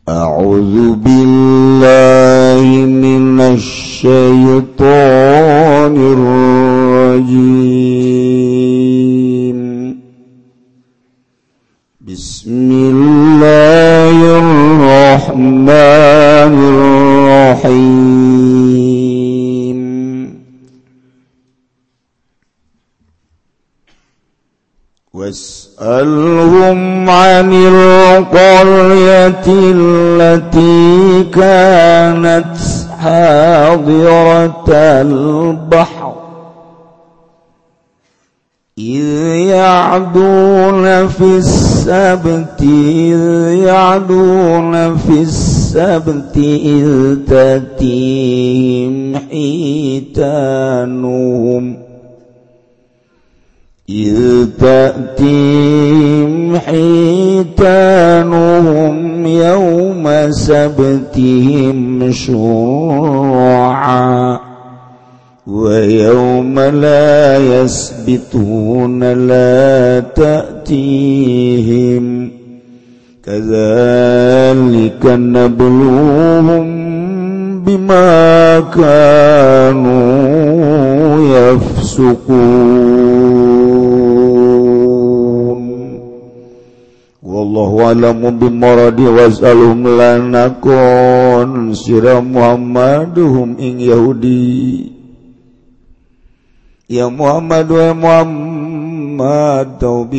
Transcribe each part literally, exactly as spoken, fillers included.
A'udzu billahi minasy syaithanir rajim. Bismillahirrahmanirrahim. Was'alhum 'anil qaryatil lati kanat hadiratal bahr idh ya'duna fis sabti idh ya'duna fis sabti idh tatihim hitanuhum إذ تأتيهم حيتانهم يوم سبتهم شرعا ويوم لا يسبتون لا تأتيهم كذلك نبلوهم بما كانوا يفسقون. Wallahu a'lamu bimuradi was'alhum lanakon sira Muhammaduhum ing Yahudi. Ya Muhammad wa Muhammad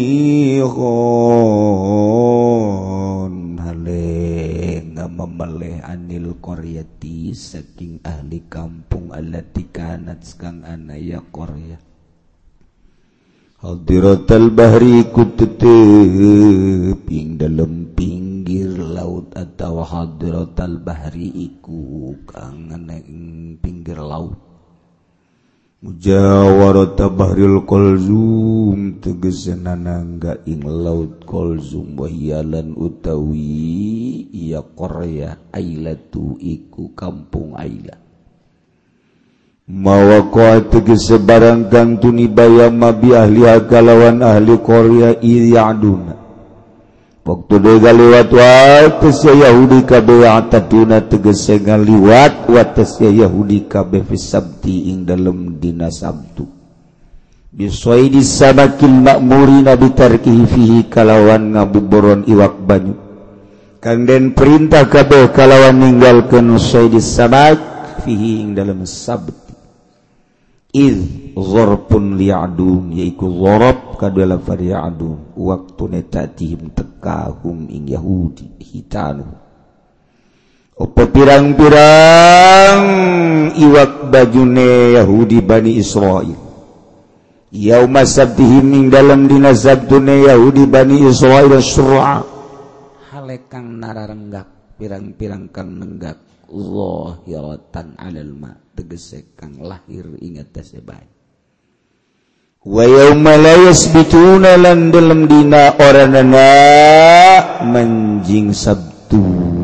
taubihon hale ngamameleh anil qaryati saking ahli kampung allati kanat kang ana ya qarya hadiratal bahri kutetep ing dalem pinggir laut atau hadiratal bahri iku kang ana ing pinggir laut mujawarata bahril qalzum tegesna nangga ing laut qalzum wahiyalan utawi ya qarya ailatu iku kampung Aila mawaqa tegese barang kang tunibaya mabi ahli kalawan ahli Korea iyaduna waktu de galiwat wates Yahudi kabeh ataduna tegese ngaliwat wates Yahudi kabeh fi sabti ing dalem dina Sabtu bisoidi sabakil ma'murina bitarkihi fihi kalawan ngabuburon iwak banyu kang den perintah kabeh kalawan ninggalkeun soidi sabak fihi ing dalem Sabtu iz zorpun li'adun yaiku zorop kadua lafar ya'adun waktu netatihim tekahum ing Yahudi hitanu opo pirang-pirang iwak bajune Yahudi Bani Israel yauma sabtihim ing dalam dina sabtune Yahudi Bani Israel sur'a halekang nararenggak pirang-pirang kang nenggak zahiratan alal ma tegese kang lahir ing atase bae wa yauma la yasbituna lan dalem dina oranana manjing Sabtu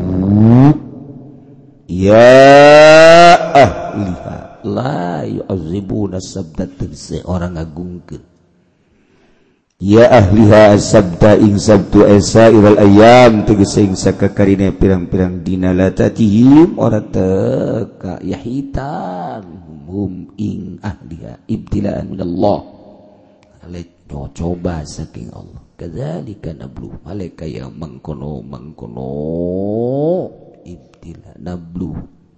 ya ahliha la yu'azzibuna sabta tegese orang ngagungkeun ya ahliha sabta ing Sabtu esa iral ayam tegese ing sakakarine pirang-pirang dina latatihim ora teka yahitan hum ing ahliha ibtilaan minallah alek coba saking Allah kadzalika nablu aleka ya mangkono mangkono ibtila nablu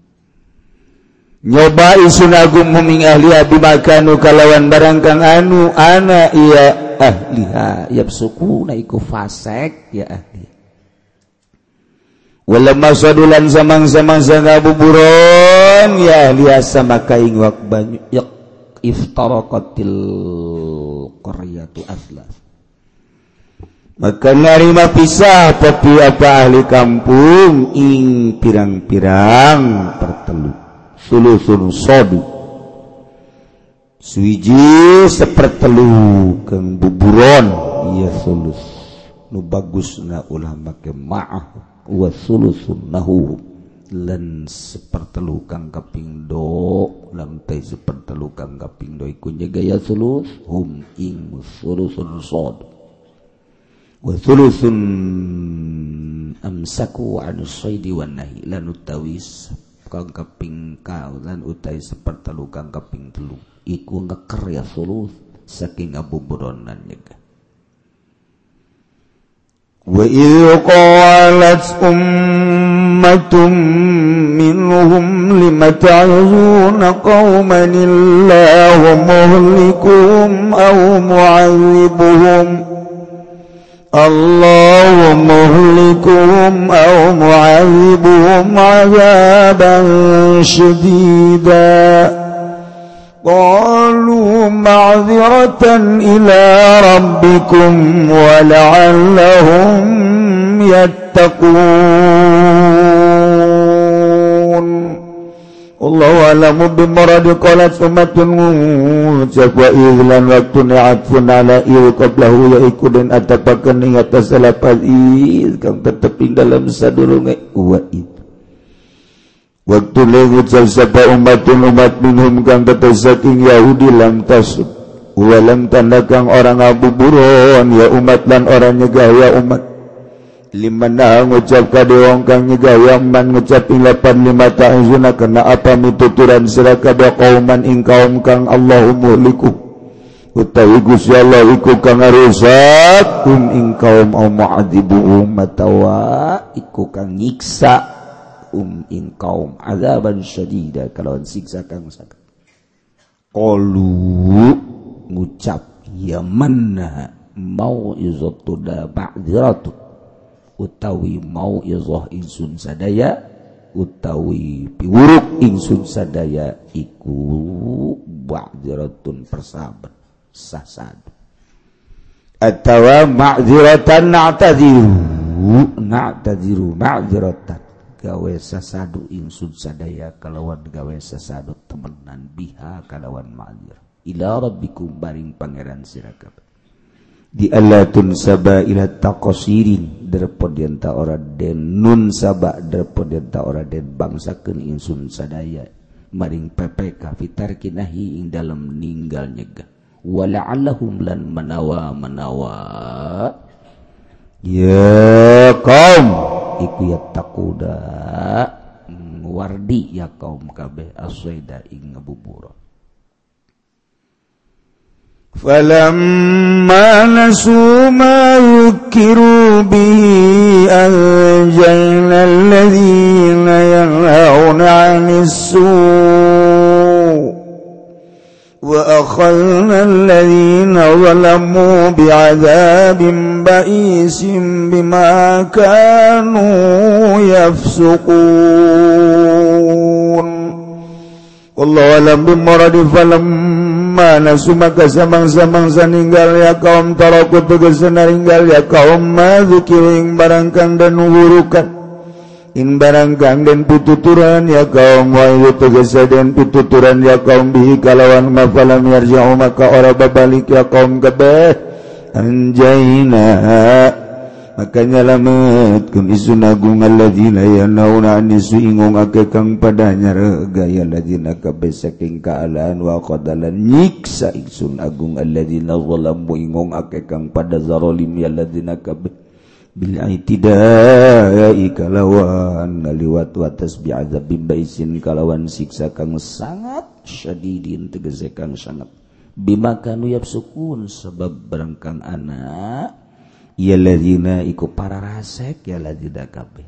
nyoba isun agung muming ahliha bimakanu kalawan barang kang anu ana iya ahliha yabsukuna iku fasek ya ahli walamma sadulan samang-samang sangabuburon ya ahliha sama kaing wak banyu yak iftaraqatil qaryatu aslas maka narima pisah tapi apa ahli kampung ing pirang-pirang pertelu sulusun sodu suwiji sepertelu kang buburon iya sulus nu bagusna ulama ke ma'ah wa sulusun nahu lan sepertelu kang kaping do lan teh sepertelu kang kaping do iku gaya sulus hum ing sulusun sod wa sulusun amsaku an shaidi wan nahi lan utawi kang kaping kaulan utai sapertelu kang kaping telu iku ngeker ya sulus saking abuburonan nyegah. Wa idh qalat ummatum minhum lima ta'izuna qauman illahu muhlikuhum aw mu'adzibuhum Allahu muhlikuhum aw mu'adzibuhum 'adzaban syadida qalu ma'dziratan ila rabbikum wa la'allahum yattaqun Allahu a'lamu bimuradi qalat ummatun ngucap wa idlan waktu ni'atfun ala il qablahu ya ikudin atapakan ingat asalapal id kang tetep dalam sadurunge wa id waktu lengucap sapa umatun umat minhum kang tetep saking Yahudi lam tasud walam tanda kang orang abuburon ya umat lan orang nyegah ya umat liman na ngucap kadewong kang nyegah man ngucap ing lapan lima ta'izuna kena apa mituturan sira kada kauman ing kaum kang Allahu muhliku utawi Gusti Allah iku kang ngarusak um ing kaum au mu'adzibuhum matawa iku kang nyiksa um ing kaum azaban syadida kalawan siksa kang sakit qalu ngucap ya manna mau'izatu da ba'dziratu utawi mau'izah ingsun sadaya utawi piwuruk ingsun sadaya iku ba'dziratun persahabat sasadu atawa ma'dziratan na'tadziru na'tadziru ma'dziratan gawe sasadu ingsun sadaya kalawan gawe sasadu temenan biha kalawan ma'dzir ila rabbikum baring pangeran sira kabeh di alatun saba ila taqasirin derpod yenta ora den nun saba derpod yenta ora den bangsakeun ingsun sadaya maring P P K fitar kinahi ing dalem ninggal nyegah wala'allahum lan manawa manawa ya kaum iku ya takuda wardi ya kaum kabeh aswaida ing ngabubura falamma nasu ma yukiru bihi anjayna alladhina yanhauna 'anis su' wa akhadna alladhina zalamu bi'adzabin ba'isin bima kanu yafsuqun wallahu alam bimuradi falamma nasu maka samang-samang saninggal ya kaum taraku tegese naringgal ya kaum madzukiring barangkang dan nuhurukan in barangkang dan pituturan ya kaum wa itu tegese dan pituturan ya kaum bihi kalawan mafalam yarja'u maka ora babalik ya kaum kabeh anjayna maka nyalamet kun isun agung alladzina yanhauna 'anis su'i ngong ake kang padanya regaya alladzina kabeh saking kaalaan wa qadalan nyiksa isun agung alladzina zalamu ingong ake kang pada zarolim ya alladzina kabeh bil aitidai kalawan ngaliwat watas bi'adzabim baisin kalawan siksa kang sangat syadidin tegese kang sangat bima kanu yafsukun sebab barangkang anak ya ladzina iku para rasek ya ladzina kabeh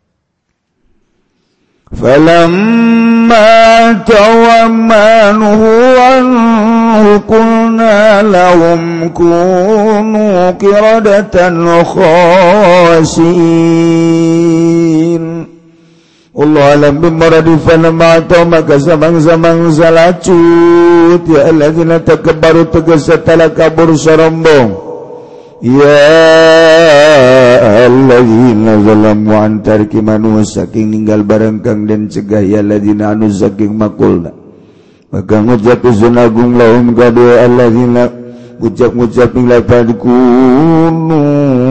falamma tawammanuhu anhu qulna lahum kunu qiradatan khasiin Allah alam bimuradi falamma maka samang-samang salacut ya alladzina takabbaru tegese talakabur sarombong ya alladzina zalamu an tarki manu saking ninggal barang kang den cegah ya alladzina anu saking makulna maka ngucap sunagung lahum kadua alladzina ucap-ucap ing lafaz kunu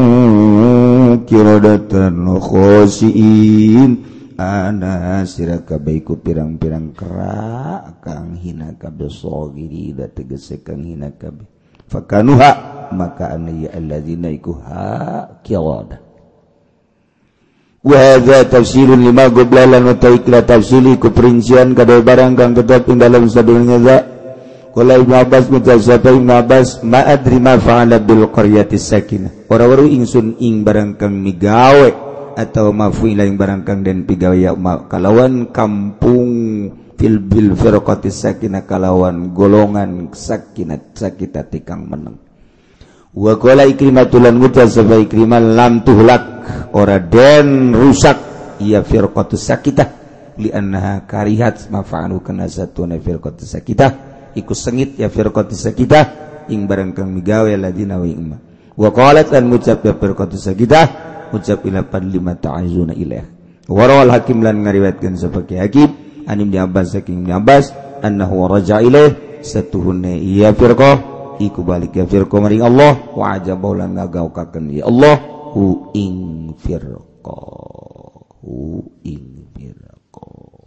kiradatan khasiin ana sira kabeh iku pirang-pirang kera kang hina kabeh sogiri da tegese kang hina kabeh fakanuha maka anna ya alladzina iku ha kirada wa hadza tafsirun lima goblalan wa taikla tafsili ku perincian kada barang kang tetap ing dalam sadurunge za qala Ibnu Abbas mutasabba Ibnu Abbas ma adri ma fa'ala bil qaryati sakinah ora weruh ingsun ing barang kang migawe atau mafuila ing barang kang den pigawe ya kalawan kampung fil bil firqati sakinah kalawan golongan sakinah sakita tikang meneng wa qala ikrimatul lan mutasabba ikrimal lam tuhlak ora den rusak ia firqatus sakitah li annaha karihat mafa'alu kana satuna firqatus sakitah iku sengit ya firqatus sakitah ing barang kang migawe ladina wa imma wa qalat lan ngucap ya firqatus sakitah ucap ila pan lima ta'azuna ilaih wa rawal hakim lan ngariwayatkeun sapake hakim an Ibnu Abbas saking Ibnu Abbas annahu raja ilaih satuhunna ia firqah iku balik ya firqah maring Allah wa ajabahu lan ngagaukaken ya Allah hu ing firqa hu ing firqa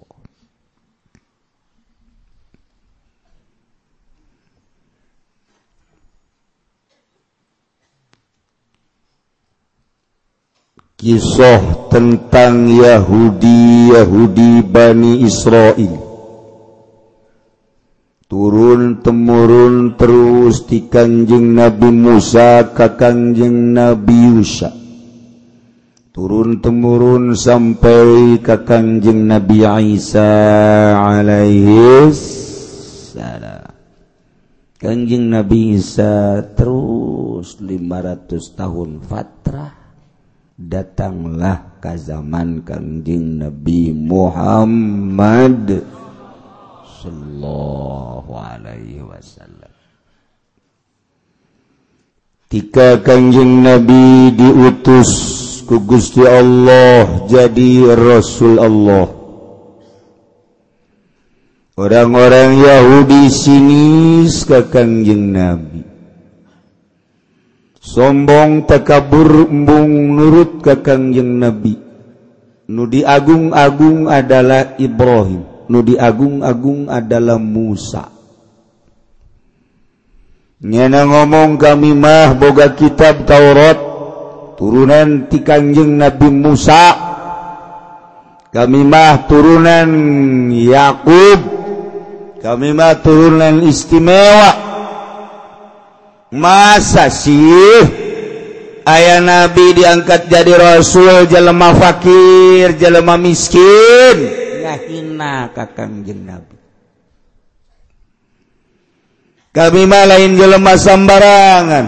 kisah tentang Yahudi Yahudi Bani Israel turun temurun terus di Kanjeng Nabi Musa ka Kanjeng Nabi Yusha turun temurun sampai ka Kanjeng Nabi Isa alaihi salam. Kanjeng Nabi Isa terus lima ratus tahun fatrah datanglah ke zaman Kanjeng Nabi Muhammad sallallahu alaihi wasallam. Tika Kanjeng Nabi diutus ku Gusti Allah jadi Rasul Allah. Orang-orang Yahudi sinis ke Kanjeng Nabi. Sombong takabur embung nurut ke Kanjeng Nabi. Nu diagung-agung adalah Ibrahim. Nu diagung-agung adalah Musa. Nyana ngomong kami mah boga kitab Taurat turunan ti Kanjeng Nabi Musa. Kami mah turunan Yakub. Kami mah turunan istimewa. Masa sih aya Nabi diangkat jadi Rasul jelema fakir, jelema miskin. Hina ka Kanjeng Nabi. Kami mah lain jelema sambarangan.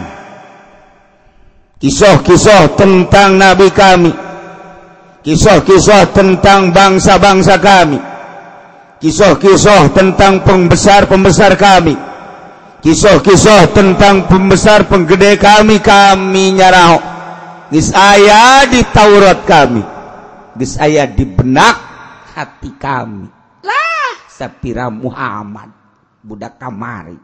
Kisah-kisah tentang Nabi kami, kisah-kisah tentang bangsa-bangsa kami, kisah-kisah tentang pembesar-pembesar kami, kisah-kisah tentang pembesar penggede kami, kami nyarao. Geus aya di Taurat kami, geus aya di benak hati kami lah sapira Muhammad budak kamari.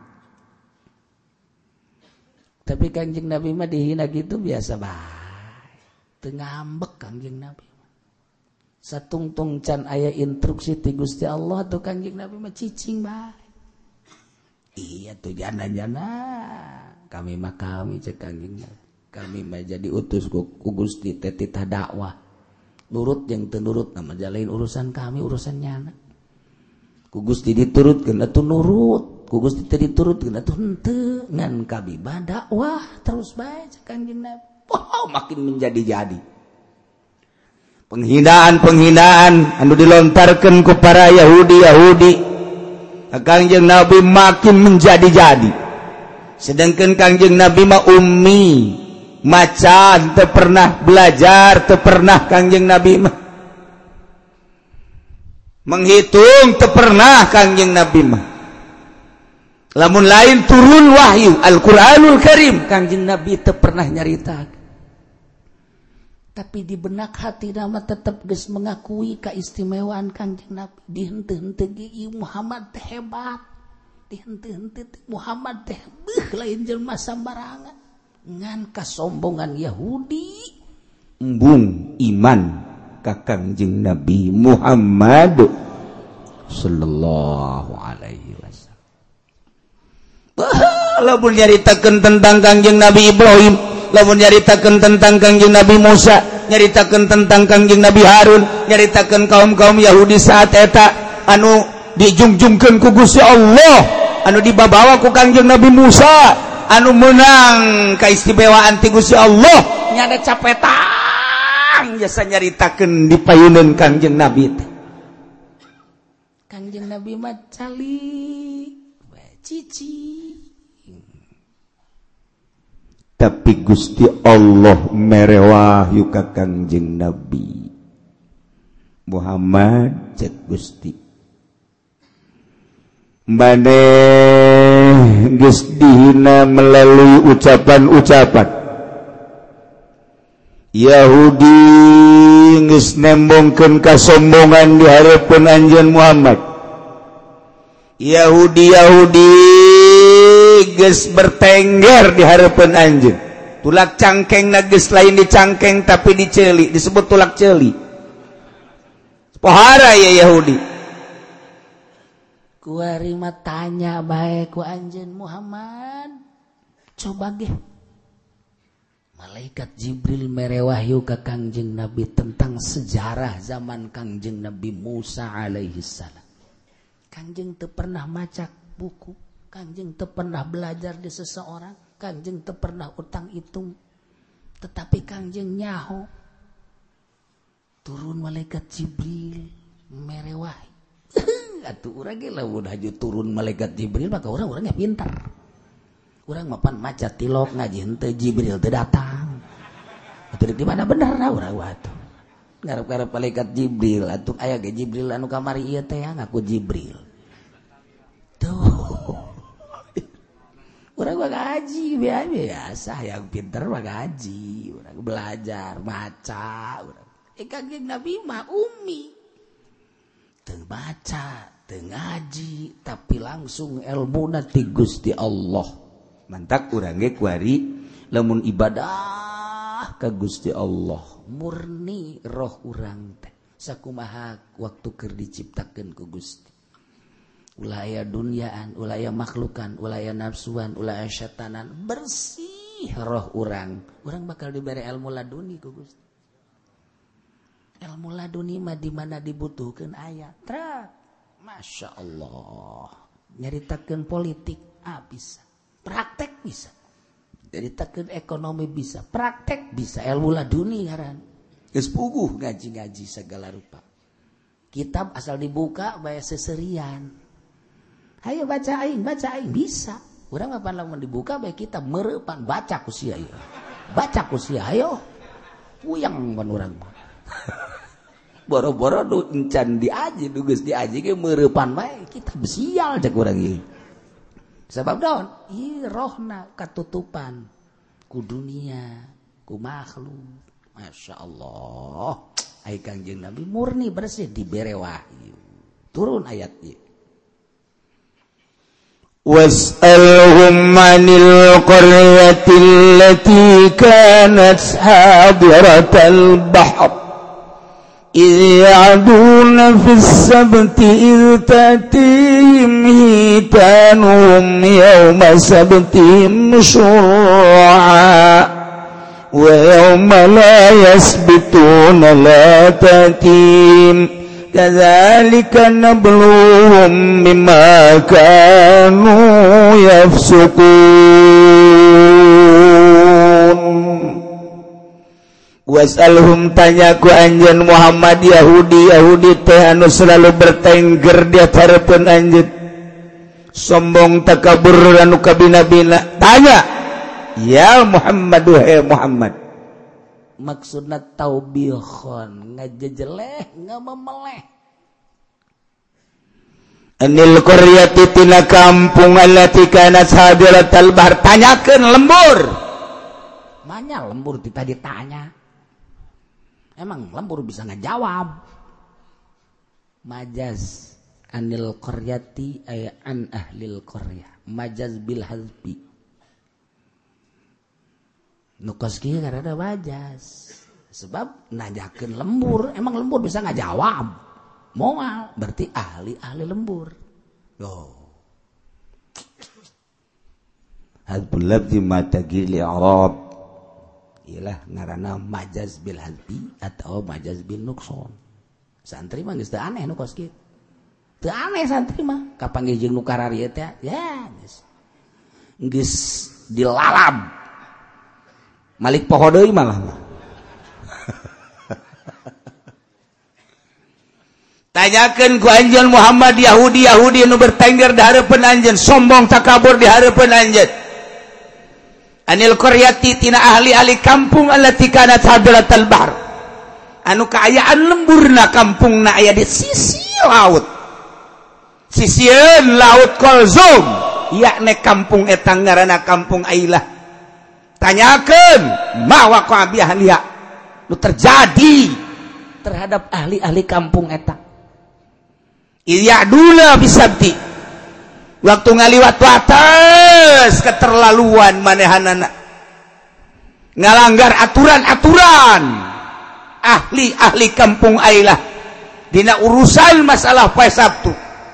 Tapi Kanjeng Nabi mah dihina gitu biasa bae teu ngambek Kanjeng Nabi satungtung can aya instruksi ti Gusti Allah tuh Kanjeng Nabi mah cicing bae. Iya tuh jana-jana kami mah kami cek Kanjeng Nabi kami mah jadi utus ku Gusti teh titah dakwah nurut yang tenurut nama jalain urusan kami urusannya anak ku Gusti diturutkeun atuh nurut ku Gusti teh diturutkeun atuh henteu ngan kami dakwah terus bae cek Kanjeng Nabi. Oh, makin menjadi-jadi penghinaan-penghinaan anu dilontarkeun ku para Yahudi-Yahudi Kanjeng Nabi makin menjadi-jadi sedangkan Kanjeng Nabi mah ummi macan teu pernah belajar teu pernah Kanjeng Nabi mah menghitung teu pernah Kanjeng Nabi mah lamun lain turun wahyu Al-Qur'anul Karim Kanjeng Nabi teu pernah nyaritakeun tapi di benak hati nama tetap geus mengakui keistimewaan Kanjeng Nabi dihenteu-henteu ge Muhammad teh hebat dihenteu-henteu Muhammad teh beuh lain jelema sambarangan ngan kasombongan Yahudi embung iman ka Kanjeng Nabi Muhammad sallallahu alaihi wasallam. Lamun nyaritakeun tentang Kanjeng Nabi Ibrahim lamun nyaritakeun tentang Kangjeng Nabi Musa, nyaritakeun tentang Kangjeng Nabi Harun, nyaritakeun kaum-kaum Yahudi saat eta anu dijungjungkeun ku Gusti Allah, anu dibabawa ku Kangjeng Nabi Musa, anu menang kaistimewaan ti Gusti Allah nya ada capetang jasa nyaritakeun di payuneun Kangjeng Nabi teh. Kangjeng Nabi mah cali cici. Tapi Gusti Allah merewahyu ka Kangjeng Nabi Muhammad cek Gusti maneh geus dihina melalui ucapan-ucapan Yahudi geus nembongkeun kasombongan di hareupeun anjeun Muhammad. Yahudi-Yahudi geus bertengger di hareupeun anjeun. Tulak cangkengna geus lain dicangkeng tapi diceuli, disebut tulak ceuli. Pohara ya Yahudi. Kuari mah tanya bae ku anjeun Muhammad. Coba ge. Malaikat Jibril merewahyu ka Kangjeng Nabi tentang sejarah zaman Kangjeng Nabi Musa alaihi salam. Kangjeng teu pernah maca buku, Kangjeng teu pernah belajar di seseorang, Kangjeng teu pernah utang hitung, tetapi Kangjeng nyaho turun malaikat Jibril merewahyu. Atuh urang ge lamun haju turun malaikat Jibril maka urang urangnya pintar. Urang mapan maca tilok ngaji henteu Jibril teu datang. Atuh di mana bener na urang atuh. Ngarep-ngarep malaikat Jibril atuh aya ge Jibril anu kamari ieu teh ngaku Jibril. Tuh. Urang mah ngaji biasa yang pinter mah ngaji, urang belajar maca urang. Eh Kangjeng Nabi mah ummi. Teu baca, teu ngaji, tapi langsung ilmuna ti Gusti Allah. Mantak urang ge kuari lamun ibadah ka Gusti Allah murni roh urang teh sakumaha waktu keur diciptakeun ku Gusti. Ulah aya dunyaan, ulah aya makhlukan, ulah aya nafsuan, ulah aya syatanan, bersih roh urang. Urang bakal dibere ilmu laduni ku Gusti. Ilmu laduni mah di mana dibutuhkeun aya. Trak. Masya Allah. Nyaritakeun politik ah bisa. Praktek bisa. Nyaritakeun ekonomi bisa. Praktek bisa. Ilmu laduni ngaran. Geus puguh ngaji-ngaji segala rupa. Kitab asal dibuka bae seserian. Hayo baca aing, baca aing bisa. Urang apa lamun dibuka bae kitab mereupan baca ku sia ieu. Baca ku sia hayo. Puyang mun urang mah. Boro-boro nu encan diaji, nu geus diaji ge mereupan bae kitab sial cek urang ieu. Sebab daun, ieu rohna katutupan ku dunia, ku makhluk. Masya Allah. Ai Kangjeng Nabi murni bersih dibere wahyu. Turun ayat ieu. Was'alhum 'anil qaryatil lati kanat hadiratal bahr إذ يعدون في السبت إذ تأتيهم حيتانهم يوم سبتهم شرعا ويوم لا يسبتون لا تأتيهم كذلك نبلوهم بما كانوا يفسقون. Wasalhum tanya ku anjeun Muhammad Yahudi Yahudi teh anu selalu bertengger di hareupeun anjeun sombong takabur anu kabina-bina tanya ya Muhammad wahai Muhammad maksudna taubihon ngajejeleh ngamemeleh anil qaryati tina kampung allati kanat hadiratal bahr tanyakeun lembur manya lembur kita ditanya. Emang lembur bisa ngajawab. Majaz anil qaryati ay an ahlil qaryah. Majaz bil hazbi. Nukos kieu karena majaz. Sebab nanyakeun lembur, emang lembur bisa ngajawab. Moal berarti ahli-ahli lembur. Oh. Hadbul labdi ma tagil i'rab iyalah ngaranna majaz bil hadfi atau majaz bil nuqson. Santri mah geus teu aneh nu kos kieu. Teu aneh santri mah kapanggih jeung nu kararieu teh ya geus geus dilalab. Malik poho deui malah. Tanyakeun ku anjeun Muhammad Yahudi Yahudi anu bertengger di hareupeun anjeun, sombong takabur di hareupeun anjeun. Anil qaryati tina ahli-ahli kampung allati kanat hadratal bahr. Anu kaayaan lemburna kampungna aya di sisi laut. Sisieun laut Kulzum, yakni kampung eta ngaranna kampung Ailah. Tanyakeun ma waqa bi ahliha. Nu terjadi terhadap ahli-ahli kampung eta. Iyadula bisabti waktu ngaliwat wates keterlaluan manehanana ngalanggar aturan-aturan ahli-ahli kampung Ailah dina urusan masalah poe Sabtu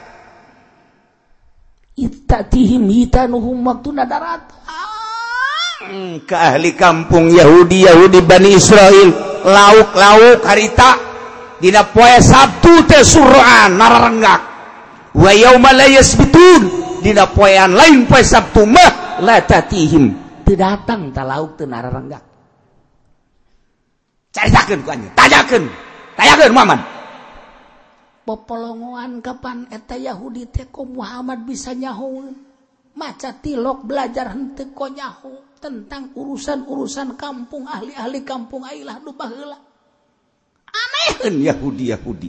itatihim hitanuhum waktu nadarat ke ahli kampung Yahudi Yahudi Bani Israel lauk-lauk harita dina poe Sabtu teh suraan nararenggak wa yauma la yasbitun dina poean lain poe Sabtu mah la tatihim teu datang ta lauk teu nararenggak. Caritakeun ku anjeun, tanyakeun tanyakeun Muhammad popolongoan kapan eta Yahudi teh ku Muhammad bisa nyahoeun maca tilok belajar henteu ko nyaho tentang urusan-urusan kampung ahli-ahli kampung Ailah nu baheula. Anehkeun Yahudi-Yahudi.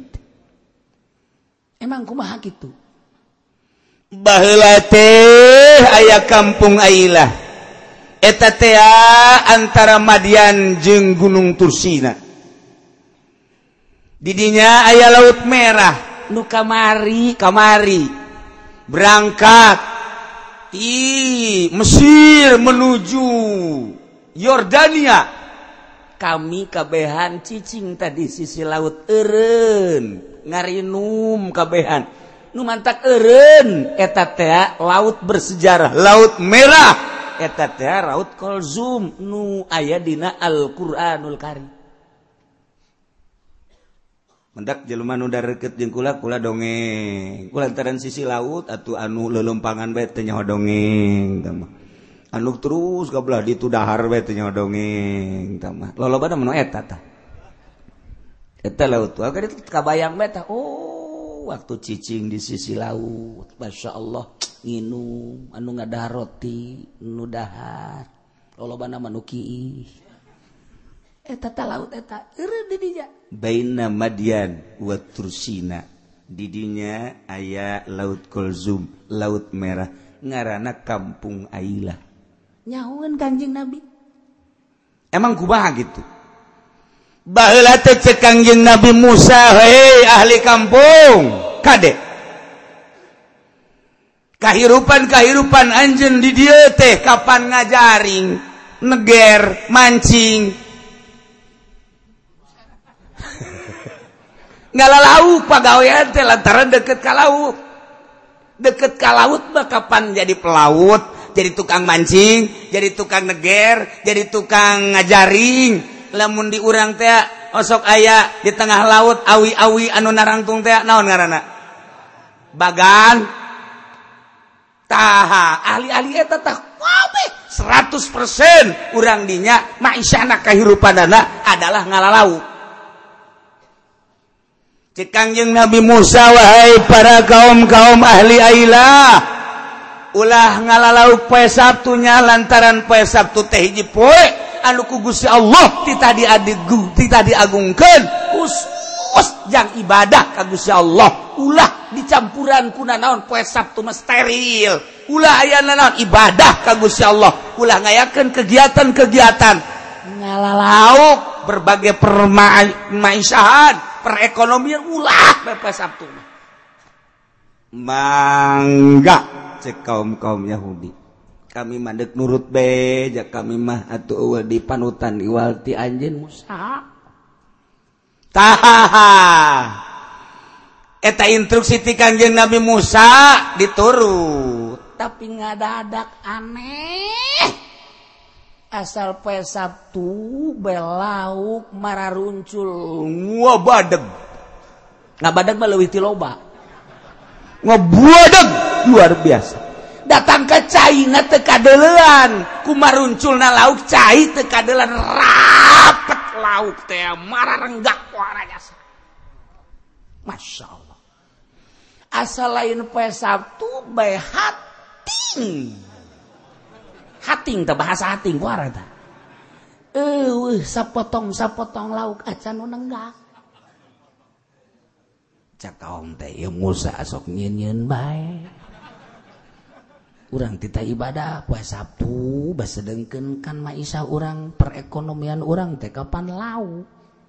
Emang kumaha kitu? Baheula teh aya kampung Ailah. Eta teh antara Madian jeung Gunung Tursina. Di dinya aya Laut Merah nu kamari kamari berangkat di Mesir menuju Yordania. Kami kabehan cicing tadi sisi laut eureun ngarinum kabehan nu mantak eureun eta teh laut bersejarah Laut Merah eta teh Laut Kulzum nu aya dina Al-Qur'anul Karim. Mendak jelema nu dareukeut jeung kula kula dongeng kulantaran sisi laut atuh anu leuleumpangan bae teh nyaho dongeng tah mah. Anu terus kabelah ditu dahar we teh dongeng tah mah lolobana menu eta tah eta laut tuh kada kabayang we tah oh waktu cicing di sisi laut masyaallah nginum anu ngadahar roti nu dahar lolobana manu kieu eta tah laut eta eureun di dinya baina Madian wa Tursina di dinya aya Laut Kulzum Laut Merah ngaranna kampung Ailah. Nyahoeun Kanjeng Nabi. Emang kumaha gitu? Baheula teh cek Kanjeng Nabi Musa, hei ahli kampung, kade. Kahirupan-kahirupan anjeun di dieu teh kapan ngajaring, neger, mancing. Ngalalauk pagawean teh lantaran deket ka laut. Deket ka laut mah kapan jadi pelaut? Jadi tukang mancing, jadi tukang neger, jadi tukang ngajaring. Lamun di urang teh osok aya di tengah laut awi-awi anu narangtung teh naon ngaranna? Bagan. Taha ahli-ahli eta tah kabeh seratus persen urang dinya maisahna kahirupanana adalah ngalalauk. Cek Kangjeng Nabi Musa, wahai para kaum-kaum ahli Ailah, ulah ngalalauk poe Sabtunya lantaran poe Sabtu teh hiji poe anu ku Gusti Allah tita diadigu tita diagungkeun khusus jang ibadah ka Gusti Allah ulah dicampuran kuna naon poe Sabtu mah steril ulah aya naon ibadah ka Gusti Allah ulah ngayakeun kegiatan-kegiatan ngalalauk berbagai permaisahan perekonomian ulah poe Sabtu mah mangga cek kaum-kaum Yahudi kami mandek nurut beja kami mah atuh eueuh di panutan iwal ti anjeun Musa tahaha eta instruksi ti Kanjeng Nabi Musa diturut tapi ngadadak aneh asal poe Sabtu belauk mararuncul ngabadeg ngabadeg mah leuwih ti loba ngabadeg luar biasa datang ke cai na teu kadeulean ku marunculna lauk cai teu kadeulean rapet lauk teh mararenggak warajasa Masya Allah asal lain poe Sabtu bae hating hating teh bahasa hating kuara teh eueuh sapotong-sapotong lauk acan nu nenggak cak kaom teh ieu Musa sok nyieun-nyieun bae urang tita ibadah poe Sabtu basedengkeun kan maisha urang perekonomian urang teh kapan lauk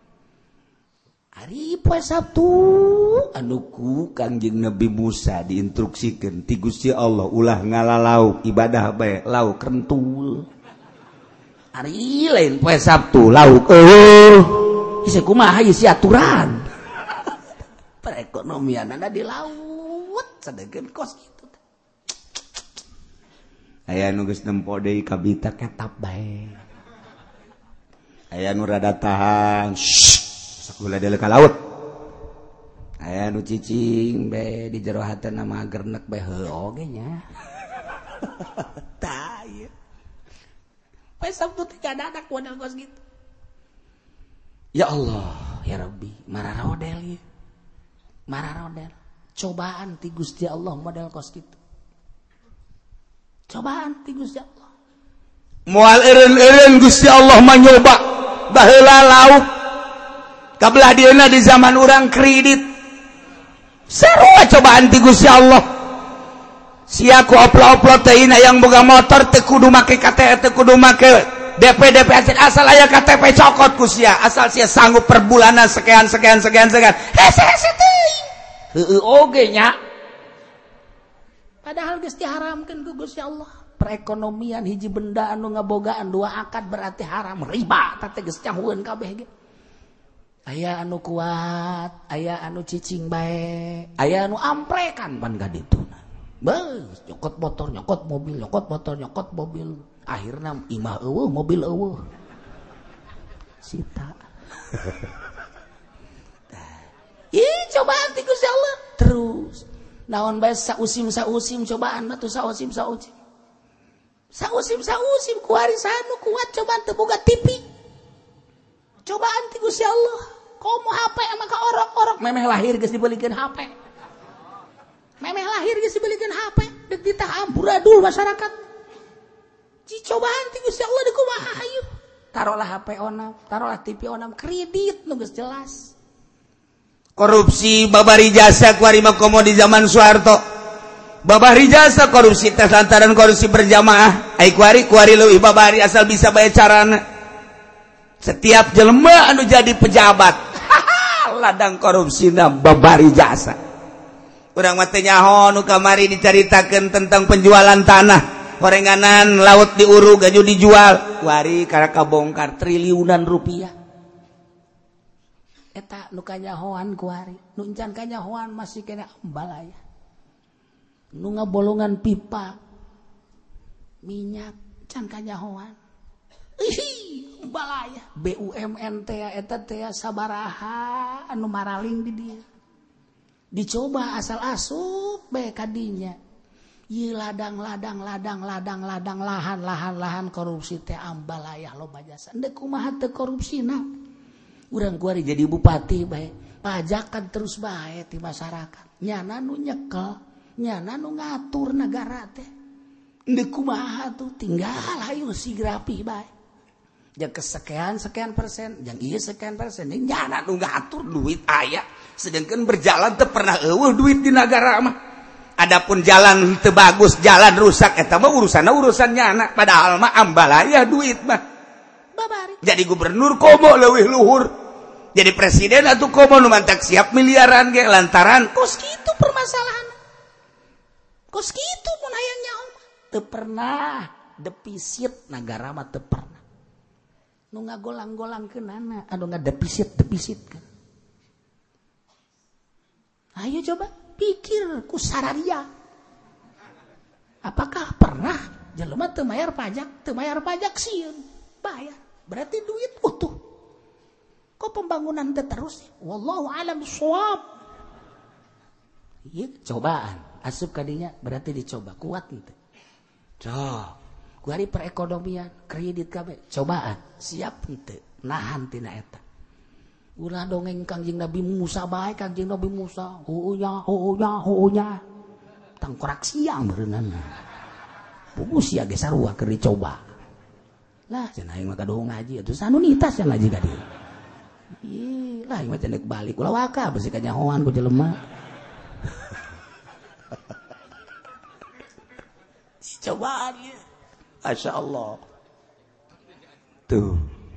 ari poe Sabtu anu ku Kangjeng Nabi Musa diinstruksikeun ti Gusti Allah ulah ngalalauk ibadah bae lauk rentul ari lain poe Sabtu lauk eueuh ieu kumaha ieu si aturan perekonomian anda di laut sedengkeun kos kitu aya nu geus nempo deui kabita ketap bae aya nu rada tahan sakula deuleu ka laut aya nu cicing bae di jero hatena mah gernek bae heuh oge nya tah ieu poe Sabtu teh kadadak model kos gitu ya Allah ya Rabbi mararodel ieu mararodel cobaan ti Gusti Allah model kos gitu cobaan ti Gusti Allah moal eureun-eureun Gusti Allah mah nyoba baheula lauk kabelah dieuna di zaman urang kredit sarua cobaan ti Gusti Allah sia ku oplo-oplo teh ina yang boga motor teu kudu make K T P teu kudu make D P D P asal aya K T P cokot ku sia asal sia sanggup per bulanan sekian sekian sekian sekian hese-hese teuing heueuh oge nya padahal geus diharamkeun ku Gusti Allah perekonomian hiji benda anu ngabogaan dua akad berarti haram riba teh geus cahueun kabeh ge aya anu kuat aya anu cicing bae aya anu amprekan pan ka dituna beus nyokot motor nyokot mobil nyokot motor nyokot mobil akhirna imah eueuh mobil eueuh sita ih cobaan ti Gusti Allah terus naon bae sausim sausim cobaan mah tuh sausim sausim sausim sausim ku warisan nu kuat cobaan teu boga T V cobaan ti Gusti Allah komo H P mah ka orok-orok memeh lahir geus dibelikeun H P memeh lahir geus dibelikeun H P deuk ditah amburadul masyarakat ci cobaan ti Gusti Allah deuk kumaha hayu tarolah H P onam tarolah T V onam kredit nu geus jelas korupsi babari jasa kuari makomo di zaman Soeharto babari jasa korupsi tes lantaran korupsi berjamaah ai kuari kuari leuwih babari asal bisa bae carana setiap jelema anu jadi pejabat ladang korupsina babari jasa urang mah teh nyaho nu kamari dicaritakeun tentang penjualan tanah gorenganan laut diurug gaju dijual kuari karena kabongkar triliunan rupiah eta nu kanyahoan kuari nu encan kanyahoan masih kena ambalaya nu ngabolongan pipa minyak can kanyahoan ih ambalaya B U M N teh eta teh sabaraha anu maraling di dieu dicoba asal asup bae kadinya ieu ladang ladang ladang ladang ladang lahan lahan lahan korupsi teh ambalaya loba jasa endeu kumaha teu korupsina urang kuari jadi bupati bae pajakan terus bae ti masyarakat nyana nu nyekel nyana nu ngatur negara teh endeu kumaha tuh tinggal hayu sigrapi bae jeung kesekian sekian persen jeung ieu sekian persen nyana nu ngatur duit aya sedangkan berjalan teu pernah eueuh duit di negara mah adapun jalan teu bagus jalan rusak eta mah urusanna urusan nyana padahal mah ambalaya duit mah babari jadi gubernur komo leuwih luhur jadi presiden atuh komo nu mantak siap miliaran ge lantaran kos kitu permasalahan kos kitu mun hayang nyaho teu pernah defisit negara mah teu pernah nu ngagolang-golangkeunana anu ngadefisit-defisitkeun ayo coba pikir ku sararia apakah pernah jelema teu mayar pajak, teu mayar pajak sieun, bayar. Berarti duit utuh. Kok pembangunan teh terus? Wallahu a'lam bishawab. Ieu cobaan, asup ka dinya berarti dicoba, kuat teu. Coba. Ku hari perekonomian, kredit kabeh, cobaan, siap henteu, nahan tina eta. Ulah dongeng Kangjeng Nabi Musa bae, Kangjeng Nabi Musa, heunya, heunya, heunya. Tangkorak siang beunana. Buku sia ge sarua keur dicoba. Lah cenah aing mah kadoho ngaji atuh sanu nitas yang ngaji ka dieu. Ih, lah ieu mah cenah balik ulah waka besi ka nyahoan ku jelema. Cobaan ieu. Masya Allah. Tuh.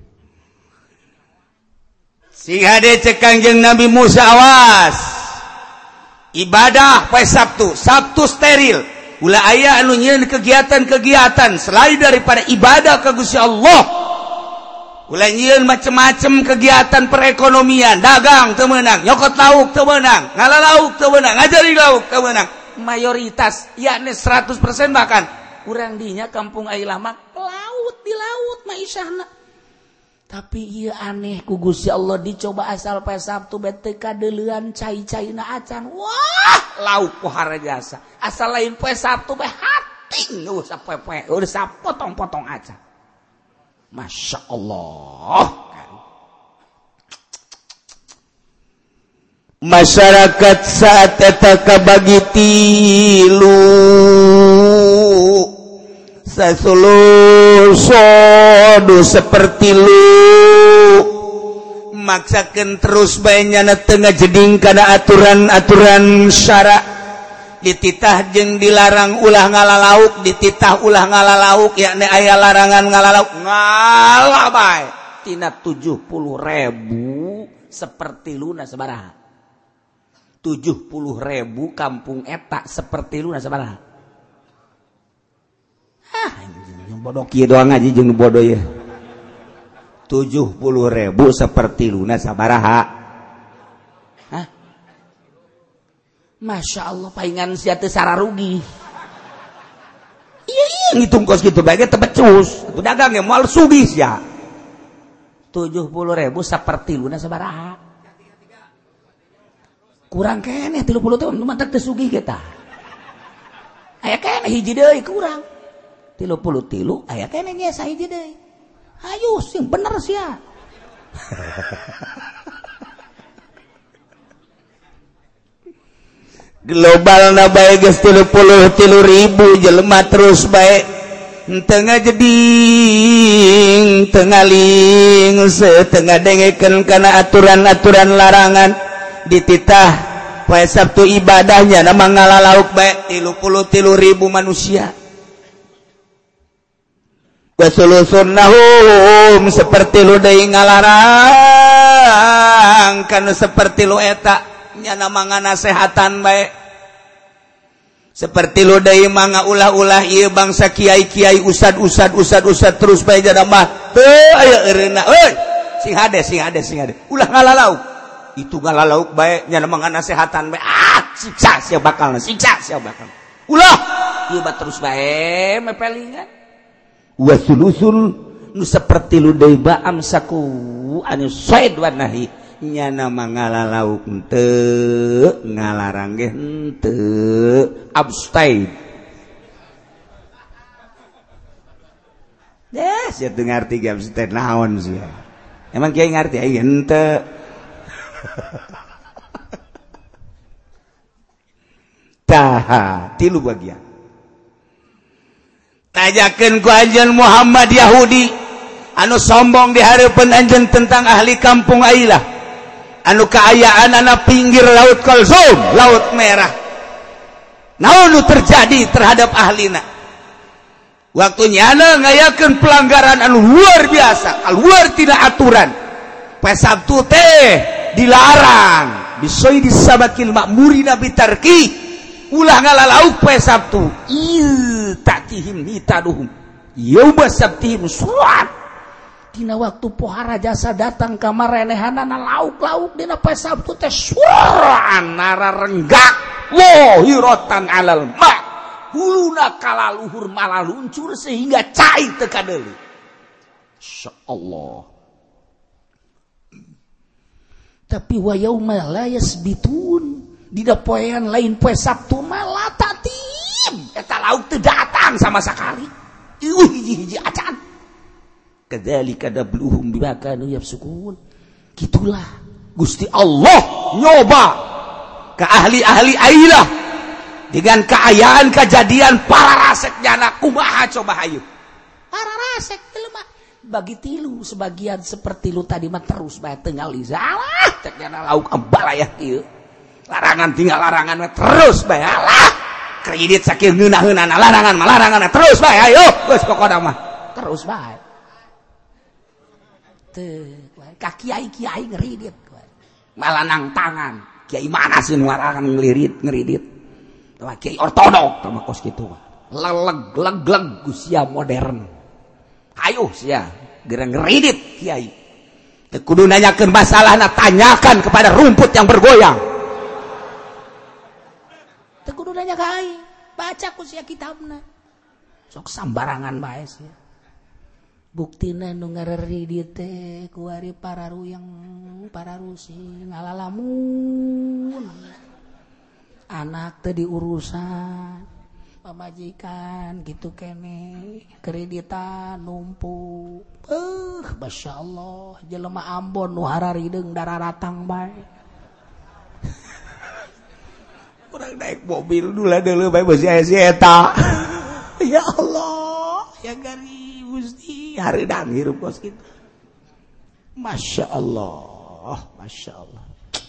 Sing hade cek Kangjeng Nabi Musa awas. Ibadah poe Sabtu, Sabtu steril. Ulah aya anu nyieun kegiatan-kegiatan selain daripada ibadah ka Gusti Allah. Ulah nyieun macem-macem kegiatan perekonomian, dagang teu meunang, nyokot lauk teu meunang, ngalalauk teu meunang, ngajari lauk teu meunang. Mayoritas yakni seratus persen bahkan urang dinya kampung ai lama laut di laut maisahna. Tapi ieu aneh ku Gusti Allah dicoba asal poe Sabtu bete kadeuleuan cai-caina acan. Wah, lauk pohara jasa. asal lain poe Sabtu bae hating eueuh sapoe-poe, udah sapotong-potong acan. Masya Allah. Masyarakat saat eta kabagi tilu sasulur sodu seperti lu maksakeun terus bae nyana teu ngajeding kana aturan-aturan syara dititah jeung dilarang ulah ngalalauk dititah ulah ngalalauk yakni aya larangan ngalalauk ngalah bae tina tujuh puluh ribu seperti luna sabaraha tujuh puluh ribu kampung eta seperti luna sabaraha ah yang bodoh kieu doang ngaji jeung bodoh ya tujuh puluh ribu seperti luna sabaraha hah Masya Allah paingan sia teu sararugi. Iya iya ngitung kos kitu bae teh becus. Atuh dagang ge moal sugih sia. tujuh puluh ribu saperti luna sabaraha? Kurang keneh tilu puluh tahun mah teu sugih ge tah. Aya keneh hiji deui kurang. tilu puluh tilu aya keneh nya sahiji deui. Hayu sing bener sia. Global na bae geus tilu puluh tilu ribu jelema terus bae henteu ngajeding teu ngaling teu ngadengekeun kana aturan-aturan larangan dititah poe Sabtu ibadahnya nama ngalalauk bae tilu puluh tilu ribu manusia wasulusunnahum seperti lu deui ngalarang kana seperti lu eta nya nama nganasehatan bae seperti lu deui mangga ulah-ulah ieu bangsa kiai-kiai ustad-ustad ustad-ustad terus bae jada mah teu aya eureuna euy sing hade sing hade sing hade ulah ngalalauk itu ngalalauk bae nya nama nganasehatan bae ah siksa sia bakalna siksa sia bakal ulah ieu mah terus bae mepelingan wasulusul nu seperti lu deui ba amsaku anu said wa nahi nya nama ngalalauk henteu ngalarang ge henteu abstain deh sia teu ngarti ge abstain naon sia emang kiai ngarti ai henteu tah tilu bagian tajakeun ku anjeun Muhammad Yahudi anu sombong di hareupeun anjeun tentang ahli kampung ailah anu kaayaan anak pinggir laut Kulsum laut merah naon nu terjadi terhadap ahlina waktu nyana ngayakeun pelanggaran anu luar biasa luar tina aturan poe Sabtu teh dilarang bisoy disabakil makmurina bitarki ulah ngalalauk poe Sabtu il tatihim hitaduhum yauma sabtihim surat tina waktu pohara jasa datang ka marenehanana lauk-lauk dina poe Sabtu teh suraan nararenggak lohiratan alal ma huluna kala luhur malah luncur sehingga cai teu kadeuli. Insyaallah. Tapi wa yauma la yasbitun dina poean lain poe Sabtu malah tatim eta lauk teu datang sama sakali. Ieuh hiji-hiji acan. Kadzalika dabluhum bima kanu yafsukun. Gitulah Gusti Allah nyoba ke ahli-ahli ailah dengan keayaan kejadian para raseknya anak kumaha coba hayu. Para rasek teh mah bagi tilu sebagian seperti lu tadi mah terus bae teu ngali salah cek nya lauk embal aya kieu. Larangan tinggal larangan mah terus bae alah. Kredit sakieu ngeunah-ngeunana larangan mah larangan terus bae ayo geus pokona mah terus bae. Teu ka kiai-kiai ngeridit malah nang tangan. Kiai mana sih nuarangan ngelirit ngeridit. Tah kiai ortodok tah kos kitu mah. Leleg leg-leg usia modern. Ayo sia gerang ngeridit kiai. Teu kudu nanyakeun masalahna tanyakan kepada rumput yang bergoyang. Teu kudu nanya ka aing, baca ku sia kitabna. Sok sambarangan bae sia. Buktina nu ngareridit teh ku ari para ruyang para rusi ngalalamun anak teh diurusan pamajikan gitu kene kreditan numpuk eh masyaallah jelema Ambon nu hararideung dararatang bae urang naik mobil dula deuleu bae beusi aya si eta ya Allah ya gari Gusti hareudang hirup kos kitu. Masya Allah, Masya Allah.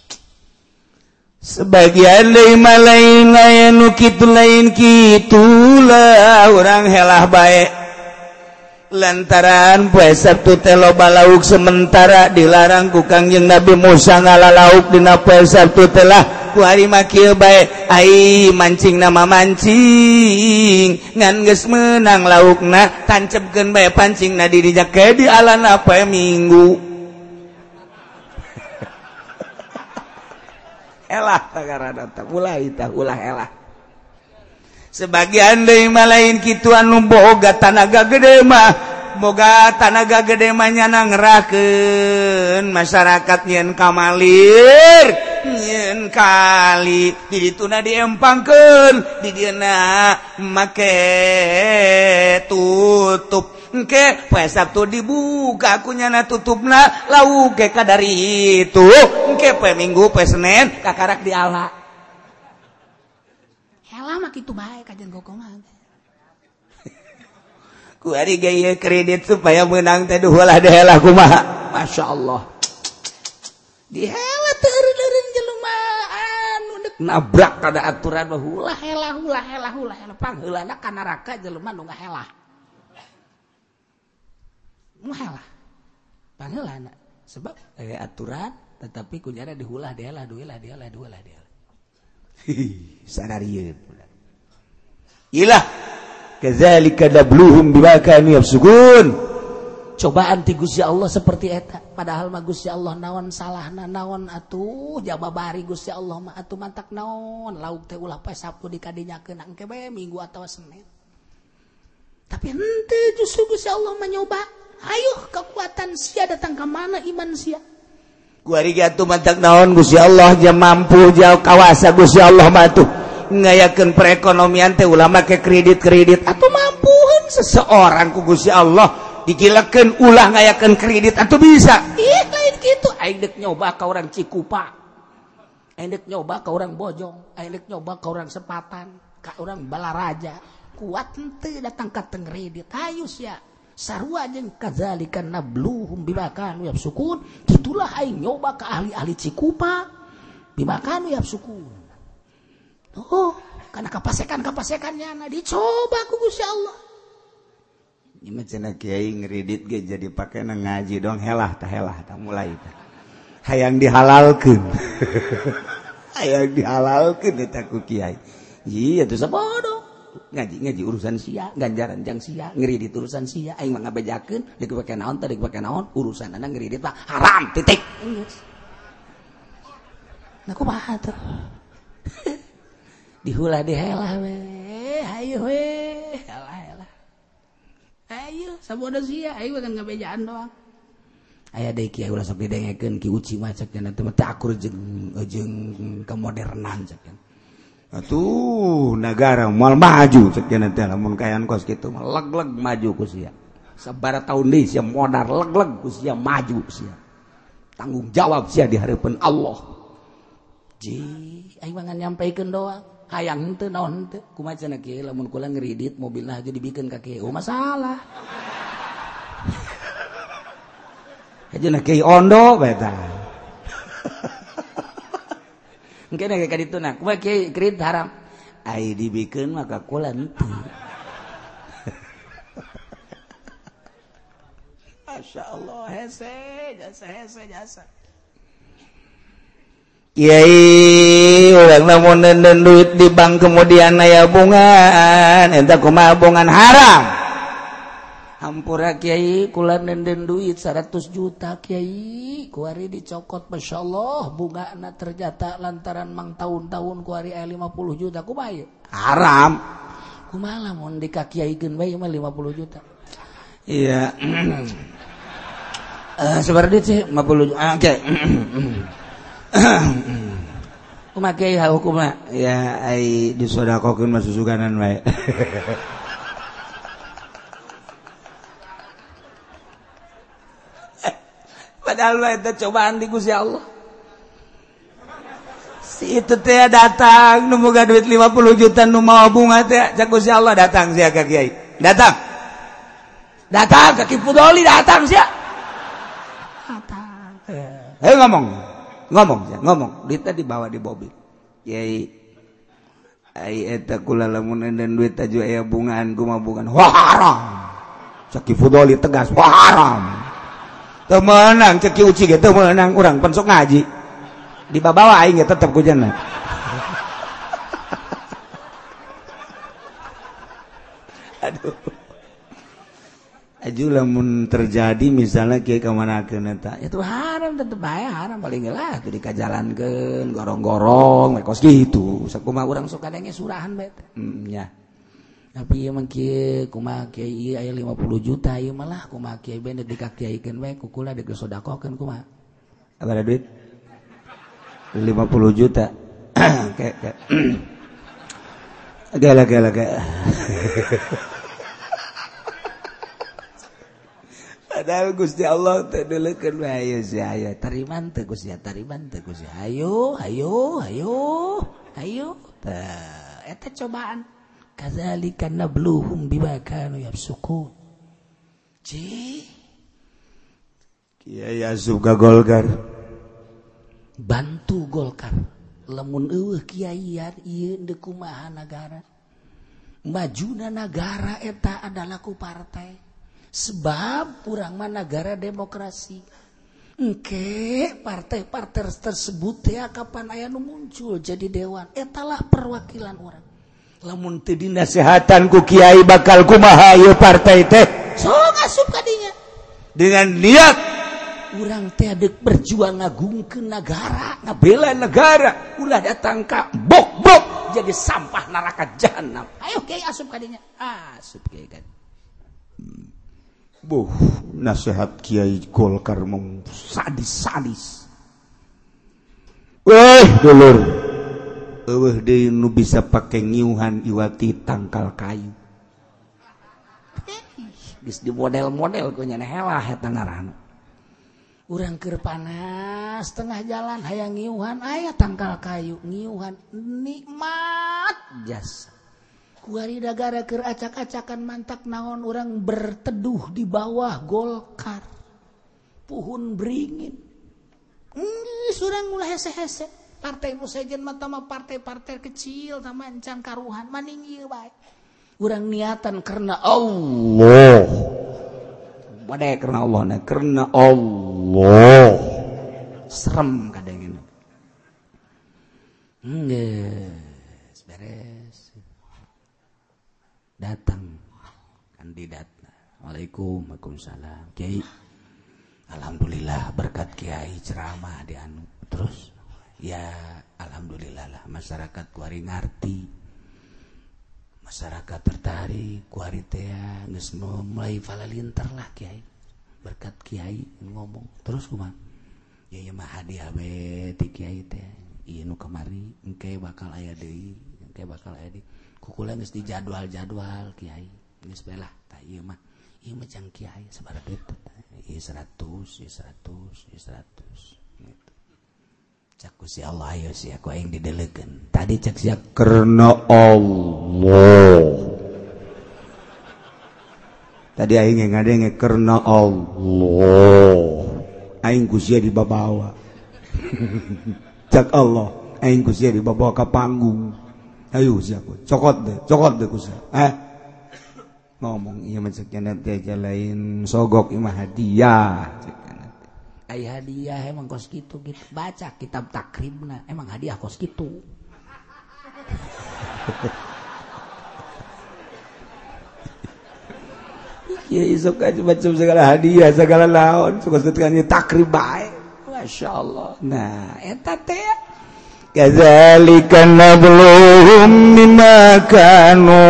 Sebagian deui mah lain aya nu kitu lain kitu lah urang helah bae. Lantaran poe Sabtu teh loba lauk sementara dilarang ku Kangjeng Nabi Musa ngalalauk dina poe Sabtu teh lah ku hari mah kieu bae ai mancing nama mancing ngan geus meunang laukna tancepkeun bae pancingna di dinya ke di alana poe Minggu. Elah tagarana teh ulah itah ulah elah. Sebagian deui mah lain kitu anu boga tanaga gede mah boga tanaga gede mah nyana ngerahkeun masyarakat nyen kamalir nyen kali di dituna diempangkeun di dieuna make tutup engke poe Sabtu dibuka ku nyana tutupna lauk ge kadari itu engke poe Minggu poe Senen kakarak diala. Lama kitu bae kajen gogong mah. Ku ari ge kredit supaya meunang teh duh ulah dehelah kumaha. Masyaallah. Dihelah teu eureun jelema anu deuk nabrak kada aturan mah ulah helah ulah helah ulah helah pangheulana ka neraka jelema nu ngahelah. Mu helah. Pangheulana sebab aya aturan tetapi kunyana diulah dehelah duelah dehelah duelah dehelah. Sadarieu pula. Ilah kadzalika dabluhum bima kanu yafsukun. Cobaan ti Gusti Allah seperti eta. Padahal mah Gusti Allah naon salahna naon atuh jababari Gusti Allah mah atuh mantak naon lauk teh ulah poe Sabtu dikadinyakeun engke bae Minggu atawa Senin. Tapi henteu justru Gusti Allah mah nyoba. Hayuh kekuatan sia datang ka mana iman sia. Ku ari ge atuh mantak naon Gusti Allah ja mampu ja kawasa Gusti Allah mah atuh ngayakeun perekonomian teh ulah make kredit-kredit atuh mampuheun seseorang ku Gusti Allah digilekeun ulah ngayakeun kredit atuh bisa. Ih lain kitu aing deuk nyoba ka urang Cikupa. Aing deuk nyoba ka urang Bojong, aing deuk nyoba ka urang Sepatan, ka urang Balaraja. Kuat henteu datang ka teu kredit. Hayu sia. Sarua jeung kadzalika nabluhum bima kanu yafsukun. Itulah aing nyoba ka ahli-ahli Cikupa bima kanu yafsukun. Oh, kana kapasekan-kapasekannya na dicoba ku Gusti Allah. Ieu mah cenah kiai ngredit ge jadi pakena ngaji dong helah tah helah tah mulai tah. Hayang dihalalkeun. Hayang dihalalkeun eta ku kiai. Ieu atuh sabodo. Ngaji-ngaji urusan sia, ganjaran jang sia, ngeureudit urusan sia, aing mah ngabejakeun, deuk pake naon teh, deuk pake naon, urusanna ngeureudit mah haram titik. Geus. Nah kumaha tuh? Dihulah dihelah we, ayo weh alah alah ayo sabodo sia ayo kan ngabejaan doang aya deui kieu ulah sok didengekeun ki uci mah cek cenah teh teh akur jeung jeung kemodernan cek cenah atuh negara moal maju cek cenah teh lamun kayan kos kitu mah leg-leg maju ku sia sabaraha taun deui sia modar leg-leg ku sia maju sia tanggung jawab sia di hareupeun Allah ji aing mah nyampaikeun doang hayang henteu naon henteu kumaha cenah kieu lamun kula ngridit mobilna aja dibikeun ka kieu masalah ajeuna kieu ondo bae tah engke na ka ditu na kumaha kieu kredit haram ai dibikeun mah ka kula henteu masyaallah hese jasa hese jasa Kiai orang namun nenden duit di bank kemudian aya bungan entah kumaha bungan haram hampura kiai kula nenden duit seratus juta kiai kuari dicokot masyaallah bungana ternyata lantaran mang tahun-tahun kuari aya lima puluh juta kumaha ieu haram kumaha lamun dikakiaikeun bae mah lima puluh juta iya eh seperti sih lima puluh juta oke kumaha ha hukumna ya ai disodakokeun mah susuganan wae padahal wae teh cobaan di Gusti Allah si itu teh datang nu boga duit lima puluh juta nu mawa bunga teh cak Gusti Allah datang sia ka kiai datang datang ka Kipudoli datang sia datang heh ngomong ngomong ya ngomong duitnya dibawa di mobil kiai ai eta kula lamun enden duit aju aya bungaan kumaha bungaan wah haram cek Kipudoli tegas wah haram teu meunang cek uci ge teu meunang urang pan sok ngaji dibawa aing ge tetep ku jenna aduh aju lamun terjadi misalnya kieu kamanakeun eta itu haram tetep bae haram paling lah teu dikajalankeun gorong-gorong we kos kitu sakumaha urang sok kadenge surahan bae teh hmm nya tapi ieu mah kieu kumaha kieu ieu aya lima puluh juta ieu mah lah kumaha kieu bae dikakiaikeun bae ku kula dek sodakokeun kumaha abada duit lima puluh juta kayak kayak gala gala gala padahal Gusti Allah teh deulekeun we ayo sia ayo tariman teh Gusti tariman teh Gusti ayo ayo ayo ayo tah eta cobaan kadzalika nabluhum bima kanu yafsukun ci Kiai asup ka Golkar bantu Golkar lamun eueuh kiai ieu teu kumaha nagara majuna nagara eta adalah ku partai sebab urang mah negara demokrasi engke partai-partai tersebut ya kapan aya nu muncul jadi dewan etalah perwakilan urang lamun teu dinasehatan ku kiai bakal kumaha ieu partai teh sok asup ka dinya dengan niat urang teh deuk berjuang ngagungkeun negara ngabela negara ulah datang ka bok-bok jadi sampah neraka jahanam ayo kiai asup ka dinya asup kiai kan Buh, nasihat Kiai Golkar mem sadis-sadis. Weh, dulur. Eueuh deui nu bisa pake ngiuhan iwati tangkal kayu. Geus di model-model ku nya helah eta ngaranna. Urang keur panas tengah jalan hayang ngiuhan aya tangkal kayu, ngiuhan nikmat jasa. Kuari dagara keur acak-acakan mantak naon orang berteduh di bawah Golkar puhun beringin geus urang ulah hese-hese partai nu sejen mah mah partai-partai kecil tama encan karuhan maning ieu bae urang niatan karena Allah bade karena Allah na karena Allah serem kadang-kadang geus beres datang kandidat. Waalaikumsalam. Waalaikumsalam. Kiai, alhamdulillah berkat Kiai ceramah di anu. Terus, ya alhamdulillah lah masyarakat kuari ngarti masyarakat tertarik kuari teh geus mulai falalintar lah Kiai berkat Kiai ngomong terus kumaha ya ieu mah hadiah we ti Kiai teh ieu nu kamari engke bakal aya deui engke bakal aya deui kukula geus dijadwal-jadwal Kiai geus bae lah tah ieu mah ieu mah jang Kiai sabaraha duit ieu seratus ieu seratus ieu seratus gitu cak si Allah ayo sih aku aing didelekeun tadi cak sia karena Allah tadi aing ngadenge karena Allah aing ku sia dibabawa cak Allah aing ku sia dibabawa ka panggung ayo sia aku cokot deh cokot deh ku sia eh ngomong ieu mah cek nanti aja lain sogok imah hadiah ay hadiah emang kos gitu gitu baca kitab takribna emang hadiah kos gitu ya isok aja macam segala hadiah segala laon suka ketikanya takrib baik masya Allah nah eta teh kadzalika nabluhum bima kanu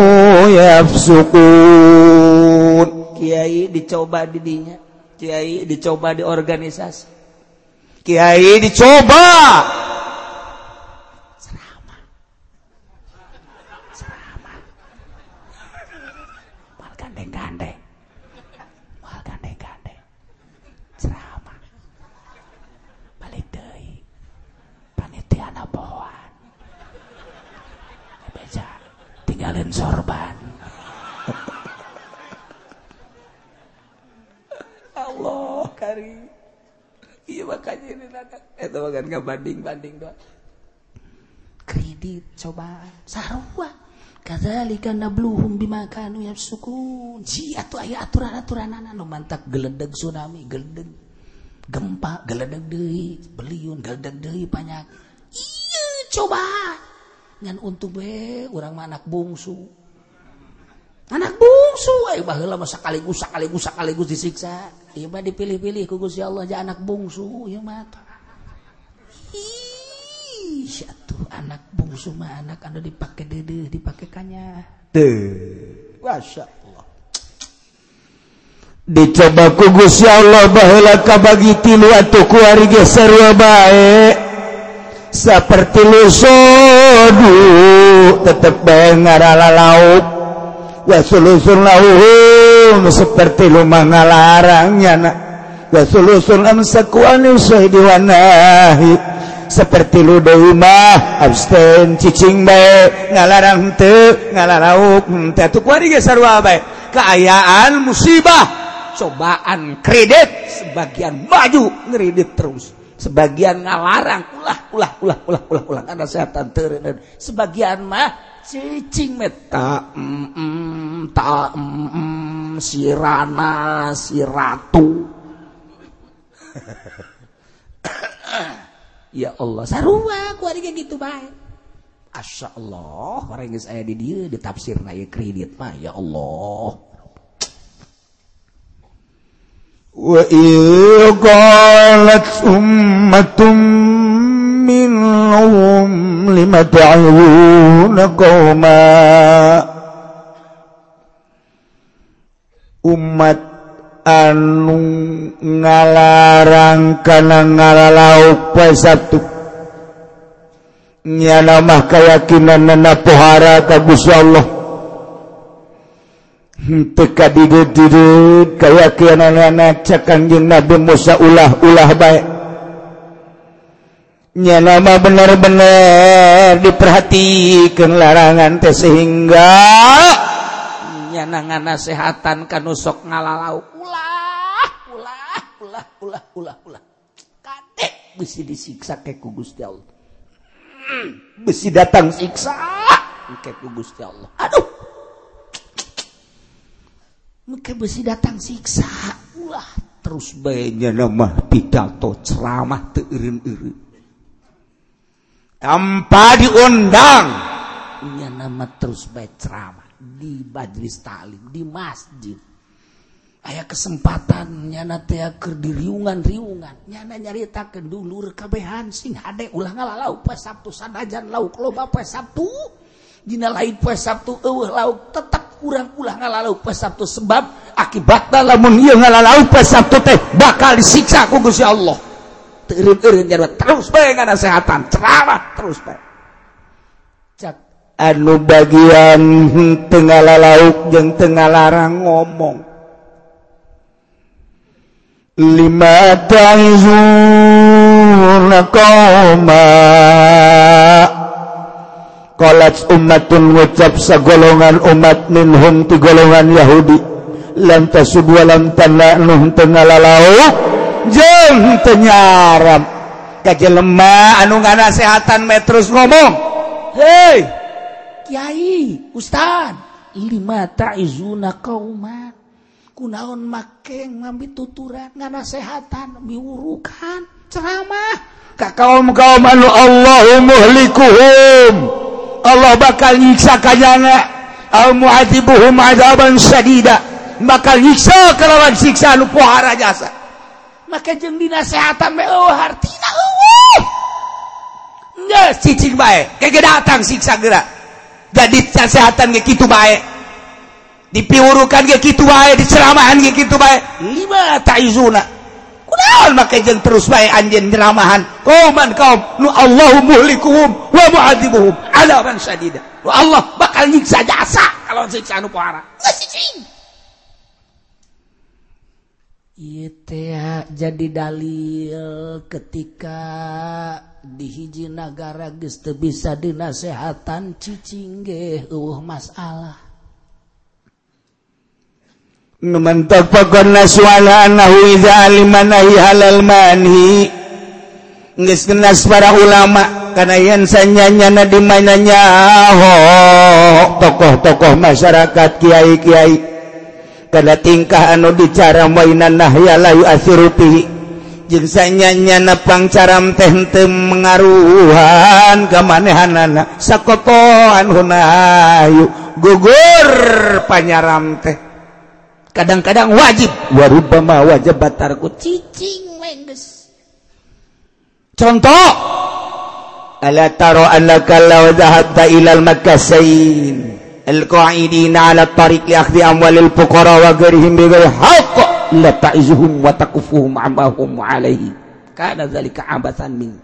yafsukun Kiai dicoba di dinya Kiai dicoba di organisasi Kiai dicoba ceramah ceramah mal gandeng-gandeng mal gandeng-gandeng ceramah balik deui panitia naboan beja tinggalin sorban Allah kari iya makanya ini nada itu makan gak banding-banding doang kredit cobaan sarua kadzalika nabluhum bima kanu yafsukun si atuh aya aturan-aturanana nu mantak geledeg tsunami geledeg gempa geledeg deui beliun geledeg deui panyak iya cobaan ngan untuk we urang mah anak bungsu anak bungsu ayo baheula mah sakaligus sakaligus sakaligus disiksa ieu mah dipilih-pilih ku Gusti Allah ja anak bungsu ieu mah ih atuh anak bungsu mah anak anu dipake deudeuh dipake kanya teu masyaallah dicoba ku Gusti Allah baheula kabagi tilu atuh ku ari ge sarua bae saperti lu sodu tetep bae ngaralauk wasulusun lauhum seperti lumah ngalarangnya nak wasulusun amsakuan usai diwanahi seperti lu deui mah abstain cicing bae ngalarang teu ngalarauk teh atuh kuari ge sarua bae kaayaan musibah cobaan kredit sebagian maju ngredit terus sebagian ngalarang ulah ulah ulah ulah ulah ulah kana setan teu sebagian mah cicing meta mm, mm, ta mm, mm, si Rana si Ratu ya Allah sarua ku ari gitu bae Masya Allah orang geus aya di dieu ditafsirna ieu kredit mah ya Allah wa qalat ummatum minhum lima ta'awuna qawma umat anu ngalarang kana ngalalauk poe Sabtu nyana mah kayakinanna pohara ka Gusti Allah teu kadidit-didit kayakinanna cak Kanjeng Nabi Musa ulah-ulah bae nyana mah bener-bener diperhatikeun larangan teh sehingga nyana nganasehatan kanu sok ngalalauk ulah ulah ulah ulah ulah ulah kadek bisi disiksa ke ku Gusti Allah besi datang siksa ke ku Gusti Allah aduh mungkin besi datang siksa ulah terus bae nyana mah pidato ceramah teu eureun-eureun tanpa diundang nyana mah terus bae ceramah di majelis taklim di masjid aya kesempatan nyana teh keur di riungan-riungan nyana nyaritakeun dulur kabehan sing hade ulah ngalalau poe Sabtu sanajan lauk loba poe Sabtu dina lain poe Sabtu eueuh lauk tetep urang ulah ngalalauk poe Sabtu sebab akibatna lamun ieu ngalalauk poe Sabtu teh bakal disiksa ku Gusti Allah. Teu eureun-eureun jadwal terus bae nganasehatan ceramah terus bae. Cak anu bagian teu ngalalauk jeung teu ngalarang ngomong. Lima ta'izuna qauma qalat ummatun ngucap sagolongan umat minhum ti golongan Yahudi lam tasub wa lam tana'nuh teu ngalalauk jeung teu nyaram ka jelema anu nganasehatan me terus ngomong. Hei Kiai Ustad lima ta'izuna qauma kunaon make ngambil tuturan nganasehatan miurukan ceramah ka kaum-kaum anu Allahu muhlikuhum Allah bakal nyiksa kajana au mu'adzibuhum adzaban syadida bakal nyiksa kalawan siksa anu pohara jasa maka jeung dinasehatan me eueuh hartina eueuh geus cicing bae kege datang siksa geura jadi nasehatan ge kitu bae dipiurukan ge kitu bae diceramahan ge kitu bae lima ta'izuna kunaon make jeung terus bae anjeun ceramahan qauman kaum nu Allahu muhlikuhum wa mu'adzibuhum adzaban syadida wa Allah bakal nyiksa jasa kalau siksa anu pohara cicing ieu teh jadi dalil ketika di hiji nagara geus teu bisa dinasehatan cicing ge eueuh masalah. Numantak pagonna suala anahu iza alimanahi halal manhi geus genas para ulama kana yen sanyanyana di mananya ho tokoh-tokoh masyarakat kiai-kiai kada tingkah anu dicara mainan nahya la yu'athiruti jeung sanyanyana pangcaram teh teu mengaruhan ka manehanana sakotoan hunayu gugur panyaram teh kadang-kadang wajib warubama wajib batarku cicing mengges contoh ala taro annaka law dhahabta ilal makasain al-qa'idina ala tariq li akhdhi amwalil fuqara wa ghairihim bi ghairi haqq la ta'izuhum wa takufuhum amma hum alaihi kana dzalika abathan min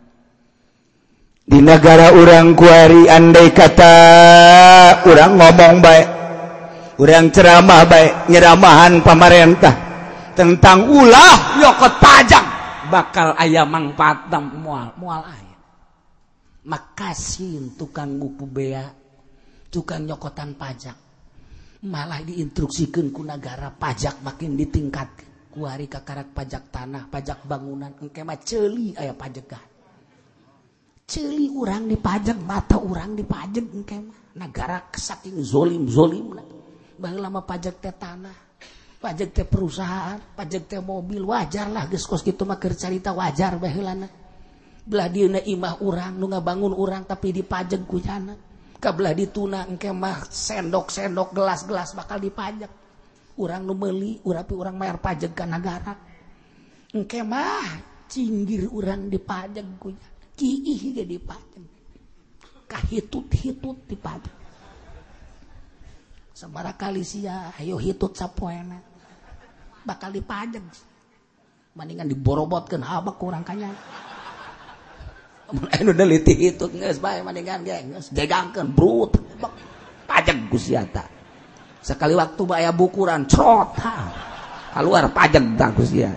di negara urang kuari andai kata urang ngomong baik urang ceramah baik nyeramahan pemerintah tentang ulah nyokot pajak bakal aya mangpaat moal moal aya makasih tukang buku bea tukang nyokotan pajak malah diinstruksikeun ku negara pajak makin ditingkatkeun kuari kakarak pajak tanah pajak bangunan engke mah ceuli aya pajegan ceuli urang dipajak mata urang dipajak engke mah negara saking zolim zolimna baheula mah pajak teh tanah pajak teh perusahaan pajak teh mobil wajar lah geus kos kitu mah keur carita wajar baheulana belah dieuna imah urang nu ngabangun urang tapi dipajak ku jana kabelah dituna engke mah sendok-sendok gelas-gelas bakal dipajak urang nu meuli urapi urang mayar pajak ka negara engke mah cinggir urang dipajak ku jana kiih ge dipajak kahitut-hitut dipajak sabaraha kali sia hayo hitut sapoena bakal dipajak mendingan diborobotkeun habak urang kanya mun anu deliti hitut geus bae mendingan ge geus gegangkeun brut pajak ku sia ta sakali waktu bae aya bukuran crot ha kaluar pajak ta ku sia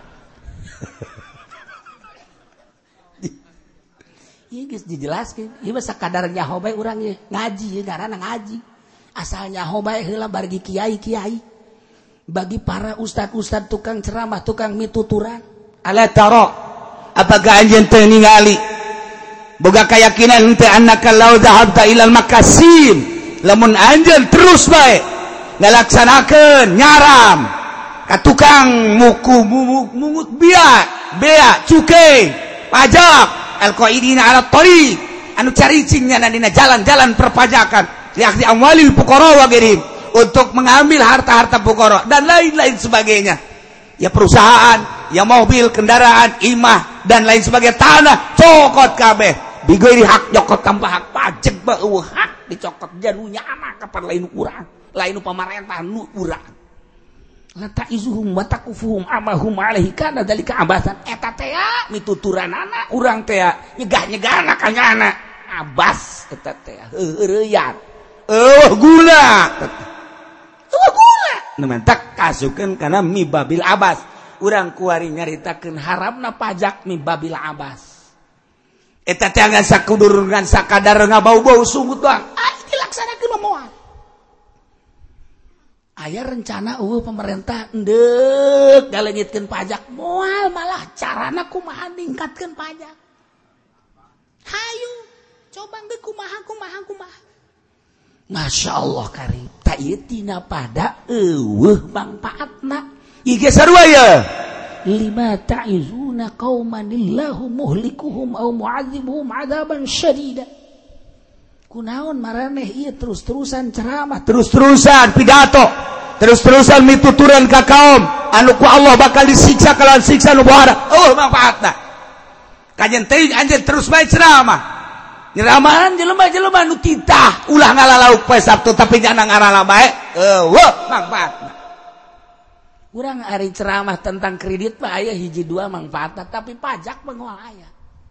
ieu geus dijelaskeun ieu mah sakadar nyaho bae urang ieu ngaji ieu ngaranna ngaji asalnya hobae heula bagi kiai-kiai bagi para ustad-ustad tukang ceramah tukang mituturan ala taro apakah anjeun teu ningali boga keyakinan teu annaka law dhahabta ilal makasim lamun anjeun terus bae ngalaksanakeun nyaram ka tukang muku mungut bea bea cukai pajak al-qaidina ala tariq anu caricingnya dina jalan-jalan perpajakan lihat di amwalil fuqara wa ghairihim untuk mengambil harta-harta fuqara dan lain-lain sebagainya ya perusahaan ya mobil kendaraan imah dan lain sebagainya tanah cokot kabeh bigori hak nyokot tanpa hak pajak ba eueuh hak dicokot janunya anak kapan lain urang lain pamarentah nu urang lata izuhum wa takufuhum amahum alaihi kana dalika abasan eta teh mituturanana urang teh nyegah-nyegahna ka nyana abas eta teh heureuyan eueuh guna eueuh guna nementak kasukeun kana mibabil abas urang kuari nyaritakeun haramna pajak mibabil abas eta teh ngan sakudur ngan sakadar ngabau-bau sungut doang ah dilaksanakeun moal aya rencana eueuh pemerintah endeuh galengitkeun pajak moal malah carana kumaha ningkatkeun pajak hayu coba geus kumaha kumaha kumaha Masya Allah karim ta ieu tina pada eueuh mangpaatna ieu ge sarua ya lima ta'izuna qauman illahu muhlikuhum aw mu'adzibuhum 'adzaban syadida kunaon maraneh ieu terus-terusan ceramah terus-terusan pidato terus-terusan mituturan ka kaum anu ku Allah bakal disiksa kalawan siksa nu bohara oh manfaatna kajen teh anjeun terus bae ceramah nyeramahan jelema-jelema nu titah ulah ngalalauk poe Sabtu tapi jangan ngarala bae eueuh manfaatna urang ari ceramah tentang kredit mah aya hiji dua manfaatna tapi pajak moal aya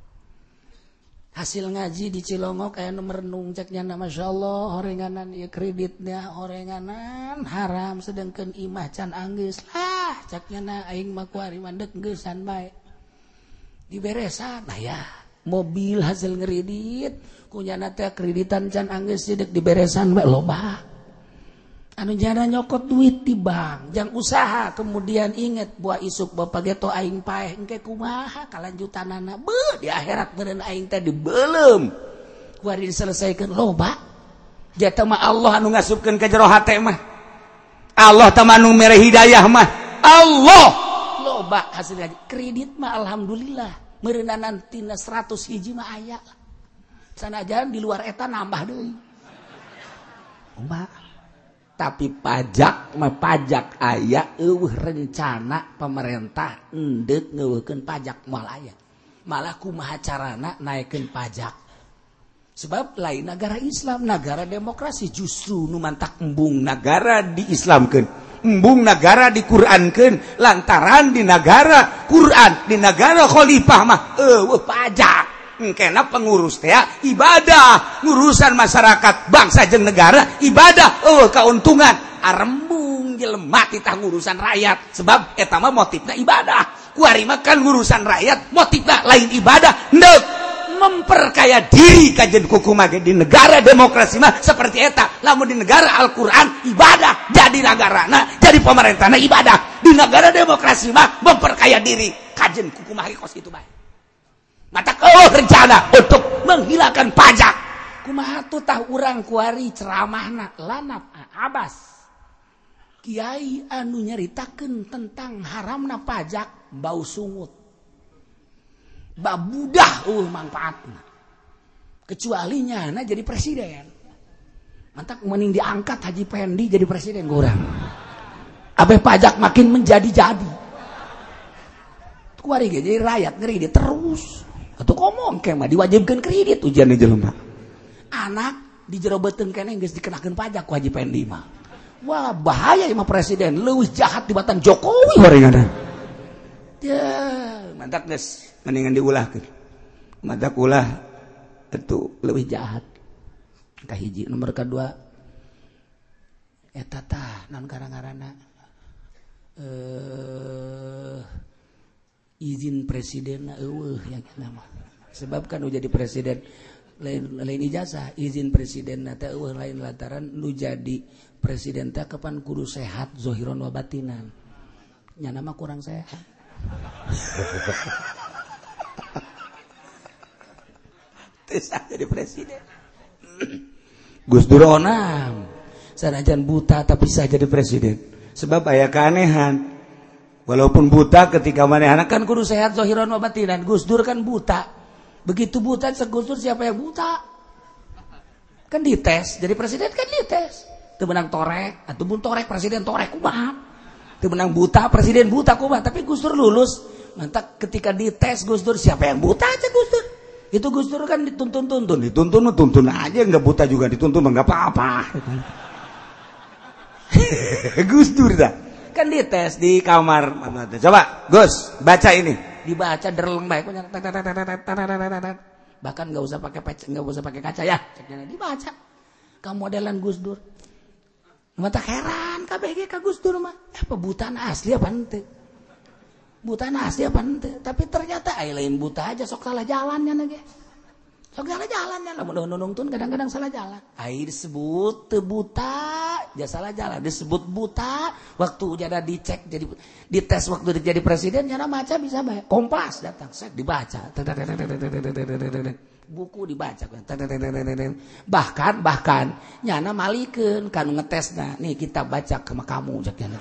hasil ngaji di Cilongok aya nu merenung cek nya masyaallah horenganan ieu kreditnya horenganan haram sedengkeun imah can anggeus lah cek nya aing mah kuari mandek geusan bae diberesan nah ya mobil hasil ngredit kunyana teh kreditan can anggeus sidek diberesan bae loba anu jana nyokot duit di bank jang usaha kemudian inget buah isuk bapak geto aing paeh engke kumaha kalanjutanana beuh di akhirat meureun aing teh dibeulem kuari diselesaikeun loba jata mah Allah anu ngasupkeun ka jero hate mah Allah teh anu mere hidayah mah Allah loba hasil ngaji kredit mah alhamdulillah meureunana tina seratus hiji mah aya sanajan di luar eta nambah deui umpama tapi pajak mah pajak aya eueuh rencana pemerintah endeuh ngeueuhkeun pajak moal aya malah kumaha carana naikkeun pajak sebab lain negara Islam negara demokrasi justru nu mantak embung negara diislamkeun embung negara diqurankeun lantaran di negara Quran di negara khalifah mah eueuh pajak kena pengurus teh ibadah ngurusan masyarakat bangsa jeung negara ibadah oh keuntungan arembung jelema kita ngurusan rakyat sebab eta mah motifna ibadah kuari mah kan ngurusan rakyat motifna lain ibadah neuk memperkaya diri kajen kukumaha di negara demokrasi mah seperti eta lamun di negara Al-Qur'an ibadah jadi nagarana jadi pemerintahna ibadah di negara demokrasi mah memperkaya diri kajen kukumaha kos kitu bae mata oh rencana untuk menghilangkan pajak kumaha tuh tah urang kuari ceramahna lanap abas kiai anu nyaritakeun tentang haramna pajak bau sungut babudah uh manfaatna kecuali nyana jadi presiden mantak mending diangkat Haji Pendi jadi presiden urang abe pajak makin menjadi-jadi kuari ge jadi rakyat ngeri dia terus atau ngomong kemah diwajibkan kredit ujian di jelema anak dijerobeuteun keneh geus dikenakeun pajak ku Haji Pendi mah wah bahaya imah presiden leuwih jahat tibatan Jokowi horenganan ya mantak geus mendingan diulahkeun mantak ulah itu leuwih jahat kahiji nomor kedua eta tah naon ngaranna eh izin presiden eueuh yang nama sebab kan nu jadi presiden lain lain ijazah izin presiden teh eueuh lain lantaran nu jadi presiden teh kapan kudu sehat zahiran wa batinan nya nama kurang sehat bisa jadi presiden Gus Dur onam sanajan buta tapi bisa jadi presiden sebab aya keanehan walaupun buta ketika manehna kan kudu sehat zahiran wa batinan Gus Dur kan buta begitu buta Gus Dur siapa yang buta kan dites jadi presiden kan dites teu menang torek atuh mun torek presiden torek kumaha teu menang buta presiden buta kumaha tapi Gus Dur lulus mantap ketika dites Gus Dur siapa yang buta aja Gus Dur Itu Gus Dur kan dituntun-tuntun, dituntun tuntun aja, nggak buta juga dituntun nggak apa-apa. Gus Dur dah. Kan dites di kamar. Coba Gus baca ini. Dibaca derleng baik. Bahkan nggak usah pakai nggak usah pakai kaca ya. Dibaca. Kamu modelan Gus Dur. Mata heran K B G ka Gus Dur mah. Apa butaan asli apa ente? Butaan asli apa ente? Tapi ternyata ai lain buta aja sok salah jalannya nage. Sok salah jalannya lah mun nunungtun kadang-kadang salah jalan. Ai disebut teu buta, ja salah jalan disebut buta. Waktu jada dicek jadi dites waktu jadi presiden nyana maca bisa bae. Kompas datang set dibaca. Buku dibaca bahkan bahkan nyana malikeun kanu ngetesna nih kita baca ke kamu cek nyana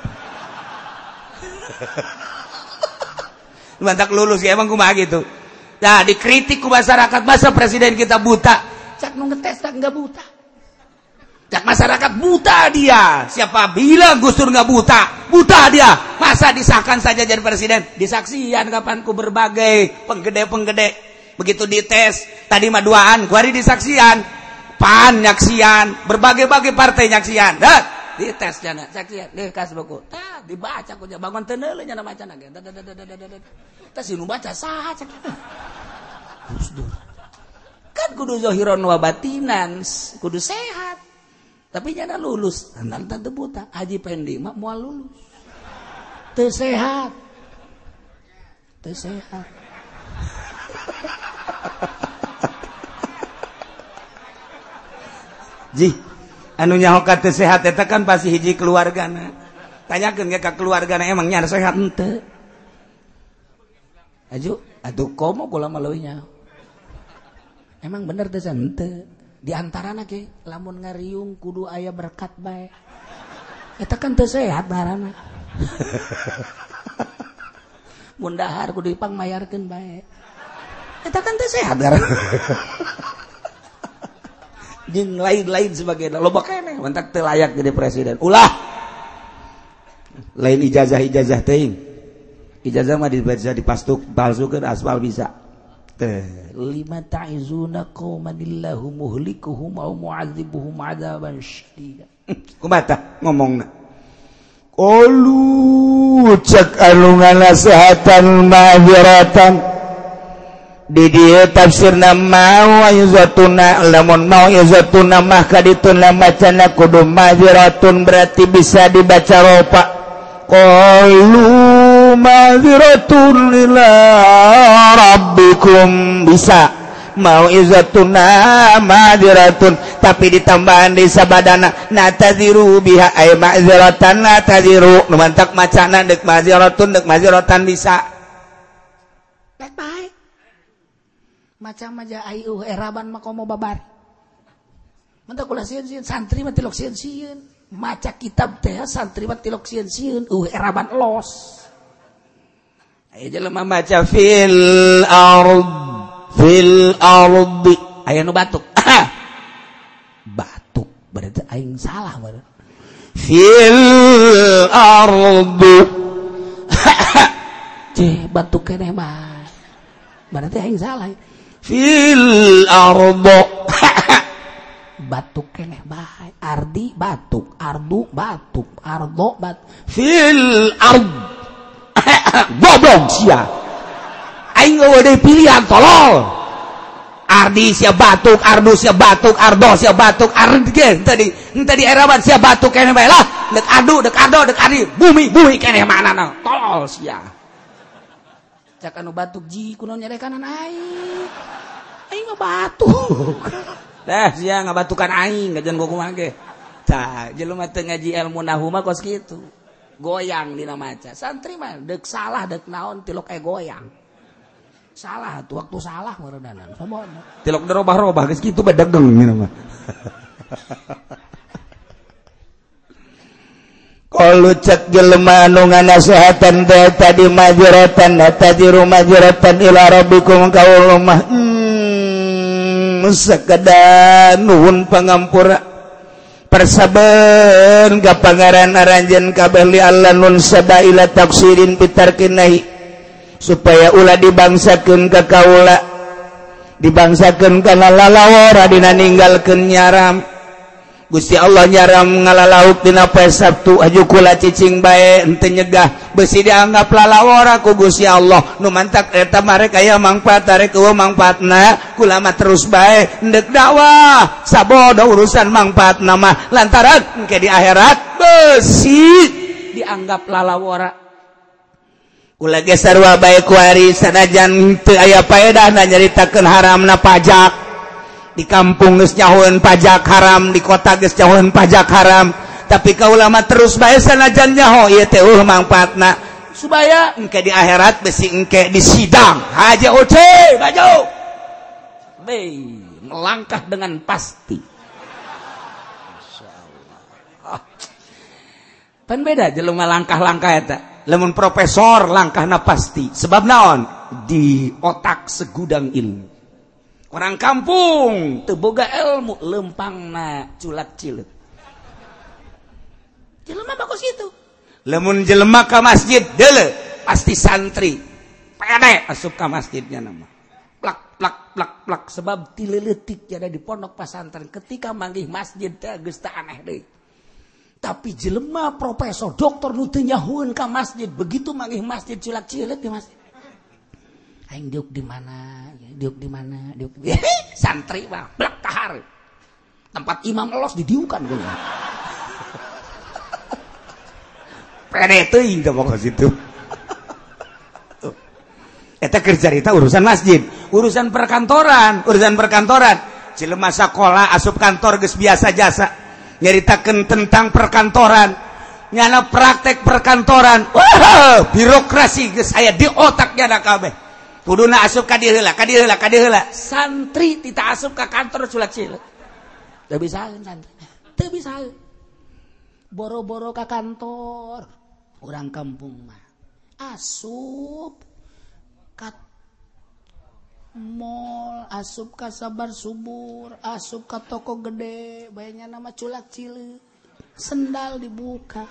mantak lulus ya emang kumaha gitu. Nah dikritik ku masyarakat masa presiden kita buta cak nu ngetesna enggak buta cak masyarakat buta dia siapa bilang Gus Dur enggak buta buta dia masa disahkan saja jadi presiden disaksian kapan ku berbagai penggede-penggede. Begitu dites, tadi mah duaan, kuari disaksian, P A N nyaksian, berbagai-bagai partai nyaksian. Dah, dites jana, saksian, dikas buku. Tah, dibaca ku bangun teu neuleun nya macana ge. Tah sinu baca saha cek. Gus Dur. Kan kudu zahiron wa batinan, kudu sehat. Tapi nya lulus, nanti teu buta. Haji Pendi mah moal lulus. Teu sehat. Teu sehat. Ji, anu nyahokan teu sehat eta kan pasti hiji keluargana. Tanyakeun ge ka keluargana emang nya sehat henteu. Aju, atuh komo kula mah leuwih nya. Emang bener teh henteu. Di antarana ge lamun ngariung kudu aya berkat bae. Eta kan teu sehat ngaranna. Mun dahar kudu dipangmayarkeun bae. Eta kan teu sehat ngaranna. Jeung lain-lain sebagainya loba keneh mentak teu layak jadi presiden. Ulah lain ijazah-ijazah teuing. Ijazah mah dibaca dipastuk palsukeun aspal bisa. Teh lima ta'izuna qaumanillahu muhlikuhum aw mu'adzibuhum 'adzaban syadida. Kumaha ngomongna? Qalu cak anu nganasehatan ma'dziratan di dia tafsirna mau yuzatuna lamun mau yuzatuna mah kaditun macana kudu maziratun berarti bisa dibaca ropa qalu maziratun ila rabbikum bisa mau yuzatuna maziratun tapi ditambahan di sabadana nataziru biha ay maziratan nataziru nu mantak macana deuk maziratun deuk maziratan bisa baik-baik macam aja ayu eraban mah komo babar. Mantap kula sieun-sieun santri mah tilok sieun-sieun. Maca kitab teh santri mah tilok sieun-sieun. Uh eraban los. Aya jelema maca fil ard fil ardi. Aya nu batuk. Batuk berarti aing salah berarti. Fil ardi. Ceh batuk keneh mah. Berarti aing salah. Fil ardo batuk keneh bae ardi batuk ardu batuk ardo bat fil ard goblok sia aing eueuh deui pilihan tolol ardi sia batuk ardu sia batuk ardo sia batuk ard ge tadi tadi eraban sia batuk keneh bae lah deuk adu deuk ardo deuk ardi bumi bumi keneh manana tolol sia cak anu batuk ji kunaon nyarekanan aing aing mah batuk dah sia ngabatukan aing ngajan gua kumaha ge tah jelema teu ngaji ilmu nahwu mah kos kitu goyang dina maca santri mah deuk salah deuk naon tilok aya goyang salah tuh waktu salah meureudanan sabona tilok derobah-robah geus kitu bae degeng nya mah Qalu cek jelema anu nganasehatan teh tadi majratan tadiru majratan ila rabbikum qaul mah hmm, sakada nuhun pangampura persaben ka pangaran aranjeun kabeh li Allah nun sada ila taksirin pitarkinahi supaya ulah dibangsakeun ka kaula dibangsakeun kana lalawara dina ninggalkeun nyaram. Gusti Allah nyaram ngalalauk dina poe Sabtu aju kula cicing bae henteu nyegah beusi dianggap lalawara ku Gusti Allah nu mantak eta marek aya mangpaat tarek eueuh mangpaatna kula mah terus bae endek dakwah sabodo urusan mangpaatna mah lantaran engke di akhirat beusi dianggap lalawara. Kula ge sarua bae ku ari sanajan teu aya paedahna nyaritakeun haramna pajak. Di kampung geus nyahoeun pajak haram, di kota geus nyahoeun pajak haram, tapi ka ulama terus bae sanajan nyaho ieu teh eueuh mangpaatna supaya engke di akhirat besi engke di sidang haja oce baju be melangkah dengan pasti. Masyaallah. Pan beda jelema langkah-langkah eta. Lamun profesor langkahna pasti. Sebab naon? Di otak segudang ilmu. Orang kampung teu boga ilmu lempangna culak cileuk. Jelema bagus itu. Lamun jelema ka masjid deuleu pasti santri. Pede asup ka masjidnya nama. Plak plak plak plak sebab ti leutik jadi di pondok pesantren ketika manggih masjid teh geus teu aneh deui. Tapi jelema profesor doktor nu teu nyahoeun ka masjid begitu manggih masjid culak cileuk di masjid. Aing diuk di mana? Diuk di mana? Diuk di santri mah blak kahar. Tempat imam elos didiukan geuning. Pede teuing teh pokok situ. Eta keur carita urusan masjid, urusan perkantoran, urusan perkantoran. Jelema sakola asup kantor geus biasa jasa. Nyaritakeun tentang perkantoran. Nyana praktek perkantoran. Wah, birokrasi geus aya di otak nyana kabeh. Kuduna asup ka dieu heula, ka dieu heula, ka dieu heula. Santri tita asup ka kantor culak cileuk. Teu bisaeun santri. Teu bisaeun. Boro-boro ka kantor. Urang kampung mah asup ka mall, asup ka Sabar Subur, asup ka toko gede, bayanya nama culak cileuk. Sendal dibuka.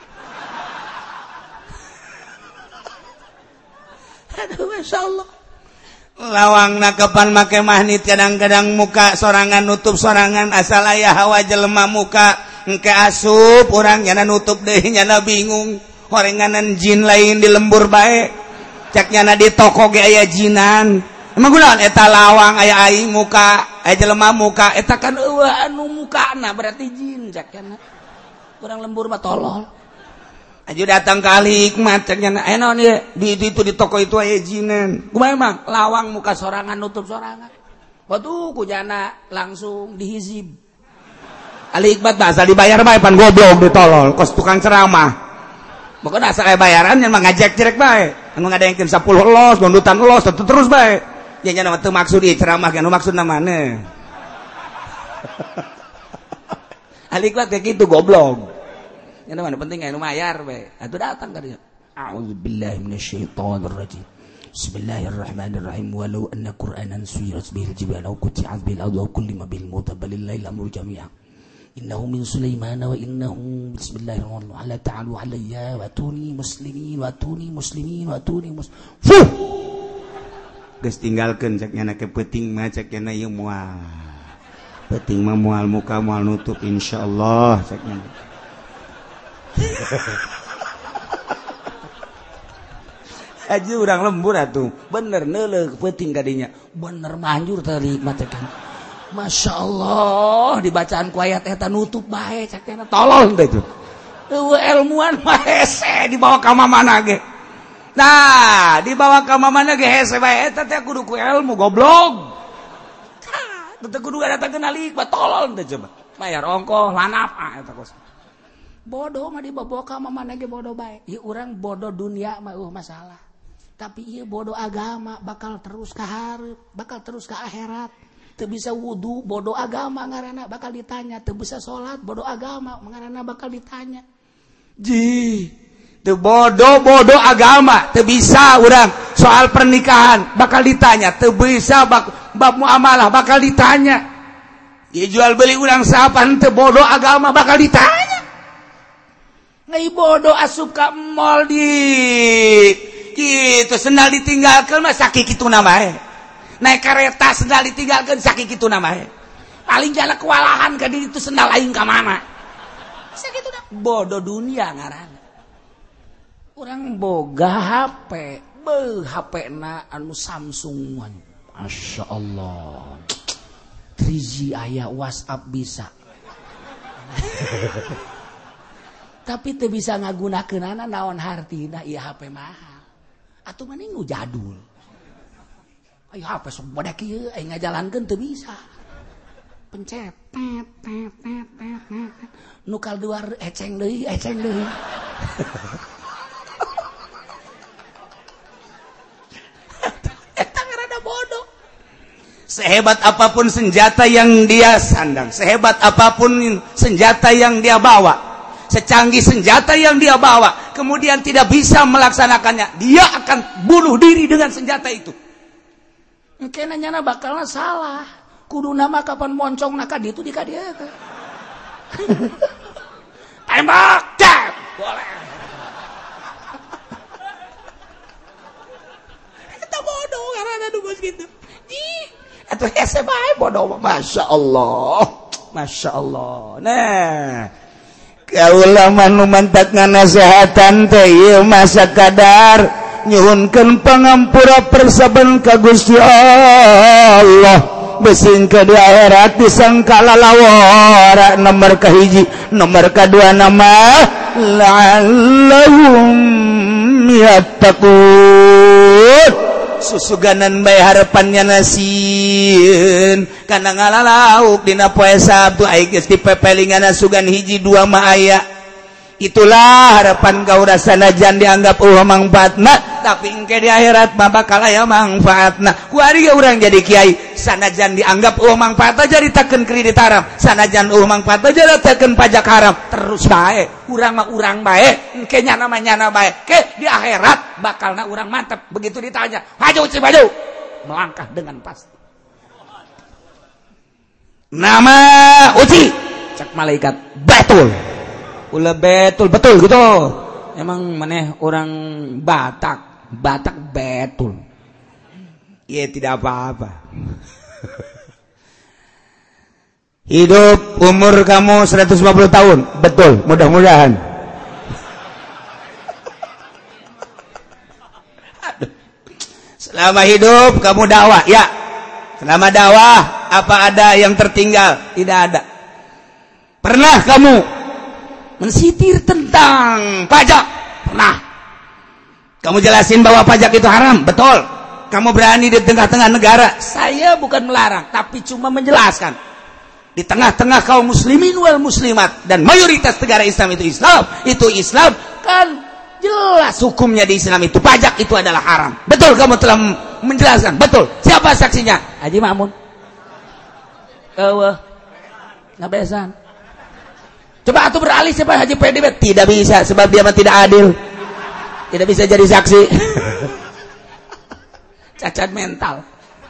Aduh, masyaallah. Lawangna kapan make mahnit kadang-kadang muka sorangan nutup sorangan asal aya hawa jelema muka engke asup urang nyana nutup deui nyana bingung horenganan jin lain di lembur bae cak nyana di toko ge aya jinan emang kunaon eta lawang aya aing muka aya jelema muka eta kan eueuh anu mukana berarti jin cak nyana urang lembur mah tolol aju datang kali hikmat cak nyana eh naon ieu di itu di toko itu aya jinan kumaha emang lawang muka sorangan nutup sorangan waduh kujana langsung dihizib ali hikmat bahasa dibayar bae pan goblok ditolol kos tukang ceramah pokoknya asa aya bayaran nya mah ngajak cirek bae anu ngadaengkeun sepuluh elos gondutan elos tetep terus bae nya nya teu maksud ieu ceramah anu maksudna maneh ali hikmat kayak gitu goblok. Yang mana penting anu mayar we. Atuh datang ka dieu. A'udzubillahi minasyaitonirrajim. Bismillahirrahmanirrahim. Walau anna Qur'anan suyirat bihil jibal aw quti'at bil ardi aw kullima bil mauta balil lail amru jami'a. Innahu min Sulaiman wa innahu bismillahirrahmanirrahim. Ala ta'alu alayya wa tuni muslimin wa tuni muslimin wa tuni mus. Fuh. Geus tinggalkeun cek nya ke peuting mah cek nya ieu moal. Peuting mah moal muka moal nutup insyaallah cek nya. Aja urang lembur atuh bener neuleuk peuting kadinya bener manjur teh hikmat kan masyaallah dibacaan ku ayat eta nutup bae cak teh tolol teh itu eueuh ilmuan mah hese dibawa ka mamana ge nah dibawa ka mamana ge hese bae eta teh kudu ku ilmu goblok teh kudu datangkeun ali hikmat tolol teh coba bayar ongkoh lanap ah eta kos bodoh mah dibawa ka mamana ge bodoh bae ieu urang bodoh dunia mah eueuh masalah tapi ieu bodoh agama bakal terus ka hareup bakal terus ka akhirat teu bisa wudu bodoh agama ngaranna bakal ditanya teu bisa salat bodoh agama ngaranna bakal ditanya ji teu bodoh bodoh agama teu bisa urang soal pernikahan bakal ditanya teu bisa bak, bab muamalah bakal ditanya ieu jual beli urang sapan teu bodoh agama bakal ditanya ngai bodoh asup ka mall di kitu sendal ditinggalkeun mah sakit kitu na bae naik kereta sendal ditinggalkeun sakitu kitu na mah paling jana kewalahan ka di itu sendal aing ka mana sakitu na bodoh dunia ngaranna urang boga H P beuh H P na anu Samsung wan Masya Allah tiga G aya WhatsApp bisa tapi teu bisa ngagunakeunana naon hartina ieu H P mahal atuh mending nu jadul ayo H P sok bodak ieu aing ngajalankeun teu bisa pencet tet tet tet tet nu kalduar eceng deui eceng deui eta rada bodoh sehebat apapun senjata yang dia sandang sehebat apapun senjata yang dia bawa secanggih senjata yang dia bawa kemudian tidak bisa melaksanakannya dia akan bunuh diri dengan senjata itu engke nanyana bakalna salah kudu nama kapan moncong na ka ditu di ka dieu tembak cep boleh eta bodoh karena nu geus kitu ih atuh hese bae bodoh Masya Allah Masya Allah nah kaula manu mantak nganasehatan teh ieu masa kadar nyuhunkeun pangampura persaban ka Gusti Allah besing ke di akhirat disangkala lawara nomor kahiji nomor kedua nama la'allahum yattaqun susuganan bae harapannya nasieun kana ngalalauk dina poe Sabtu ai geus dipepelingan sugan hiji dua mah aya itulah harapan kaula sanajan dianggap eueuh mangfaatna tapi engke di akhirat mah bakal aya mangfaatna ku ari ge urang jadi kiai sanajan dianggap eueuh mangfaatna jadi takeun kredit haram sanajan eueuh mangfaatna jadi takeun pajak haram terus bae urang mah urang bae engke nyana mah nyana bae ke di akhirat bakalna urang mantep begitu ditanya maju ci maju melangkah dengan pasti nama uci cak malaikat betul ulah betul betul gitu emang maneh orang Batak Batak betul ya tidak apa-apa hidup umur kamu seratus lima puluh tahun betul mudah-mudahan selama hidup kamu dakwah ya selama dakwah apa ada yang tertinggal tidak ada pernah kamu mensitir tentang pajak pernah kamu jelasin bahwa pajak itu haram betul kamu berani di tengah-tengah negara saya bukan melarang tapi cuma menjelaskan di tengah-tengah kaum muslimin wal muslimat dan mayoritas negara Islam itu Islam itu Islam kan jelas hukumnya di Islam itu pajak itu adalah haram betul kamu telah menjelaskan betul siapa saksinya Haji Ma'mun eueuh ngabesan coba atuh beralih siapa Haji P D B tidak bisa sebab dia mah tidak adil tidak bisa jadi saksi cacat mental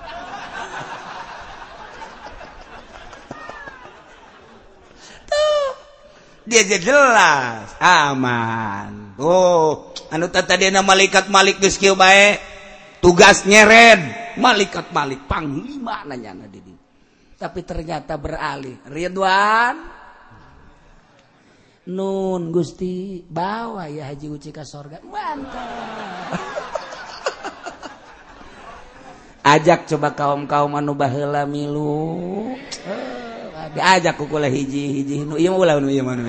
tuh dia jadi jelas aman oh anu tadi na malaikat malik geus kieu bae tugas nyeret malaikat malik panglima nanyana di dieu tapi ternyata beralih Ridwan nun Gusti bawa ya Haji Uci ka sorga mantap ajak coba kaum-kaum anu baheula milu uh, diajak ku kula hiji-hiji nu ieu mah ulah nu ieu mah nu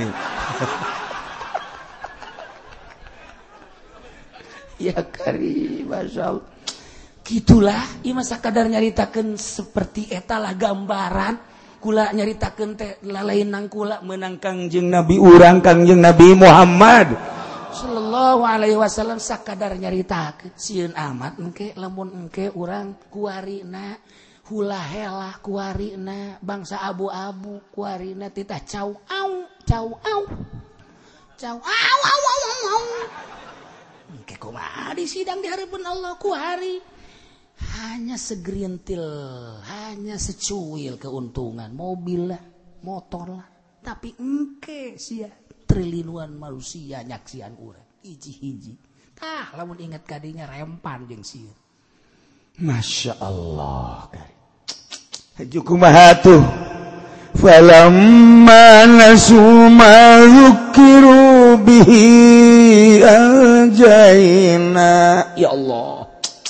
ya kari masyaallah gitulah ieu mah sakadar nyaritakeun seperti eta lah gambaran kula nyaritakeun teh lalainang kula meunang Kangjeng Nabi urang Kangjeng Nabi Muhammad sallallahu alaihi wasallam sakadar nyaritakeun sieun amat engke lamun engke urang kuarina hula helah kuarina bangsa abu-abu kuarina titah cau au cau au cau au au au au engke kumaha di sidang di hareupeun Allah kuari hanya segerintil, hanya secuil keuntungan, mobil lah, motor lah, tapi engke sia triliunan manusia nyaksian urang, hiji-hiji. Tah, lamun ingat kadinya rempan jeung sieun. Masya Allah. Haju kumaha tuh? Falamma nasu ma dzukiru bihi anjayna. Ya Allah.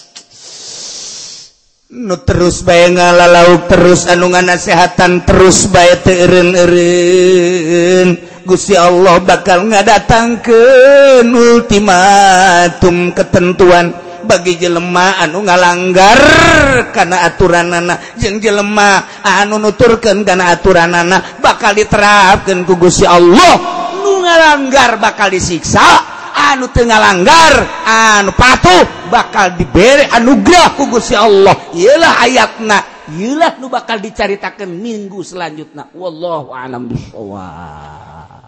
Nu terus bae ngalalauk terus anu nganasehatan terus bae teu eureun-eureun. Gusti Allah bakal ngadatangkeun ultimatum ketentuan bagi jelema anu ngalanggar kana aturanana jeung jelema anu nuturkeun kana aturanana bakal diterapkeun ku Gusti Allah. Nu ngalanggar bakal disiksa, anu teu ngalanggar anu patuh bakal dibere anugerah ku Gusti Allah. Ieulah ayatna, ieulah nu bakal dicaritakeun minggu selanjutna. Wallahu a'lam bishawab.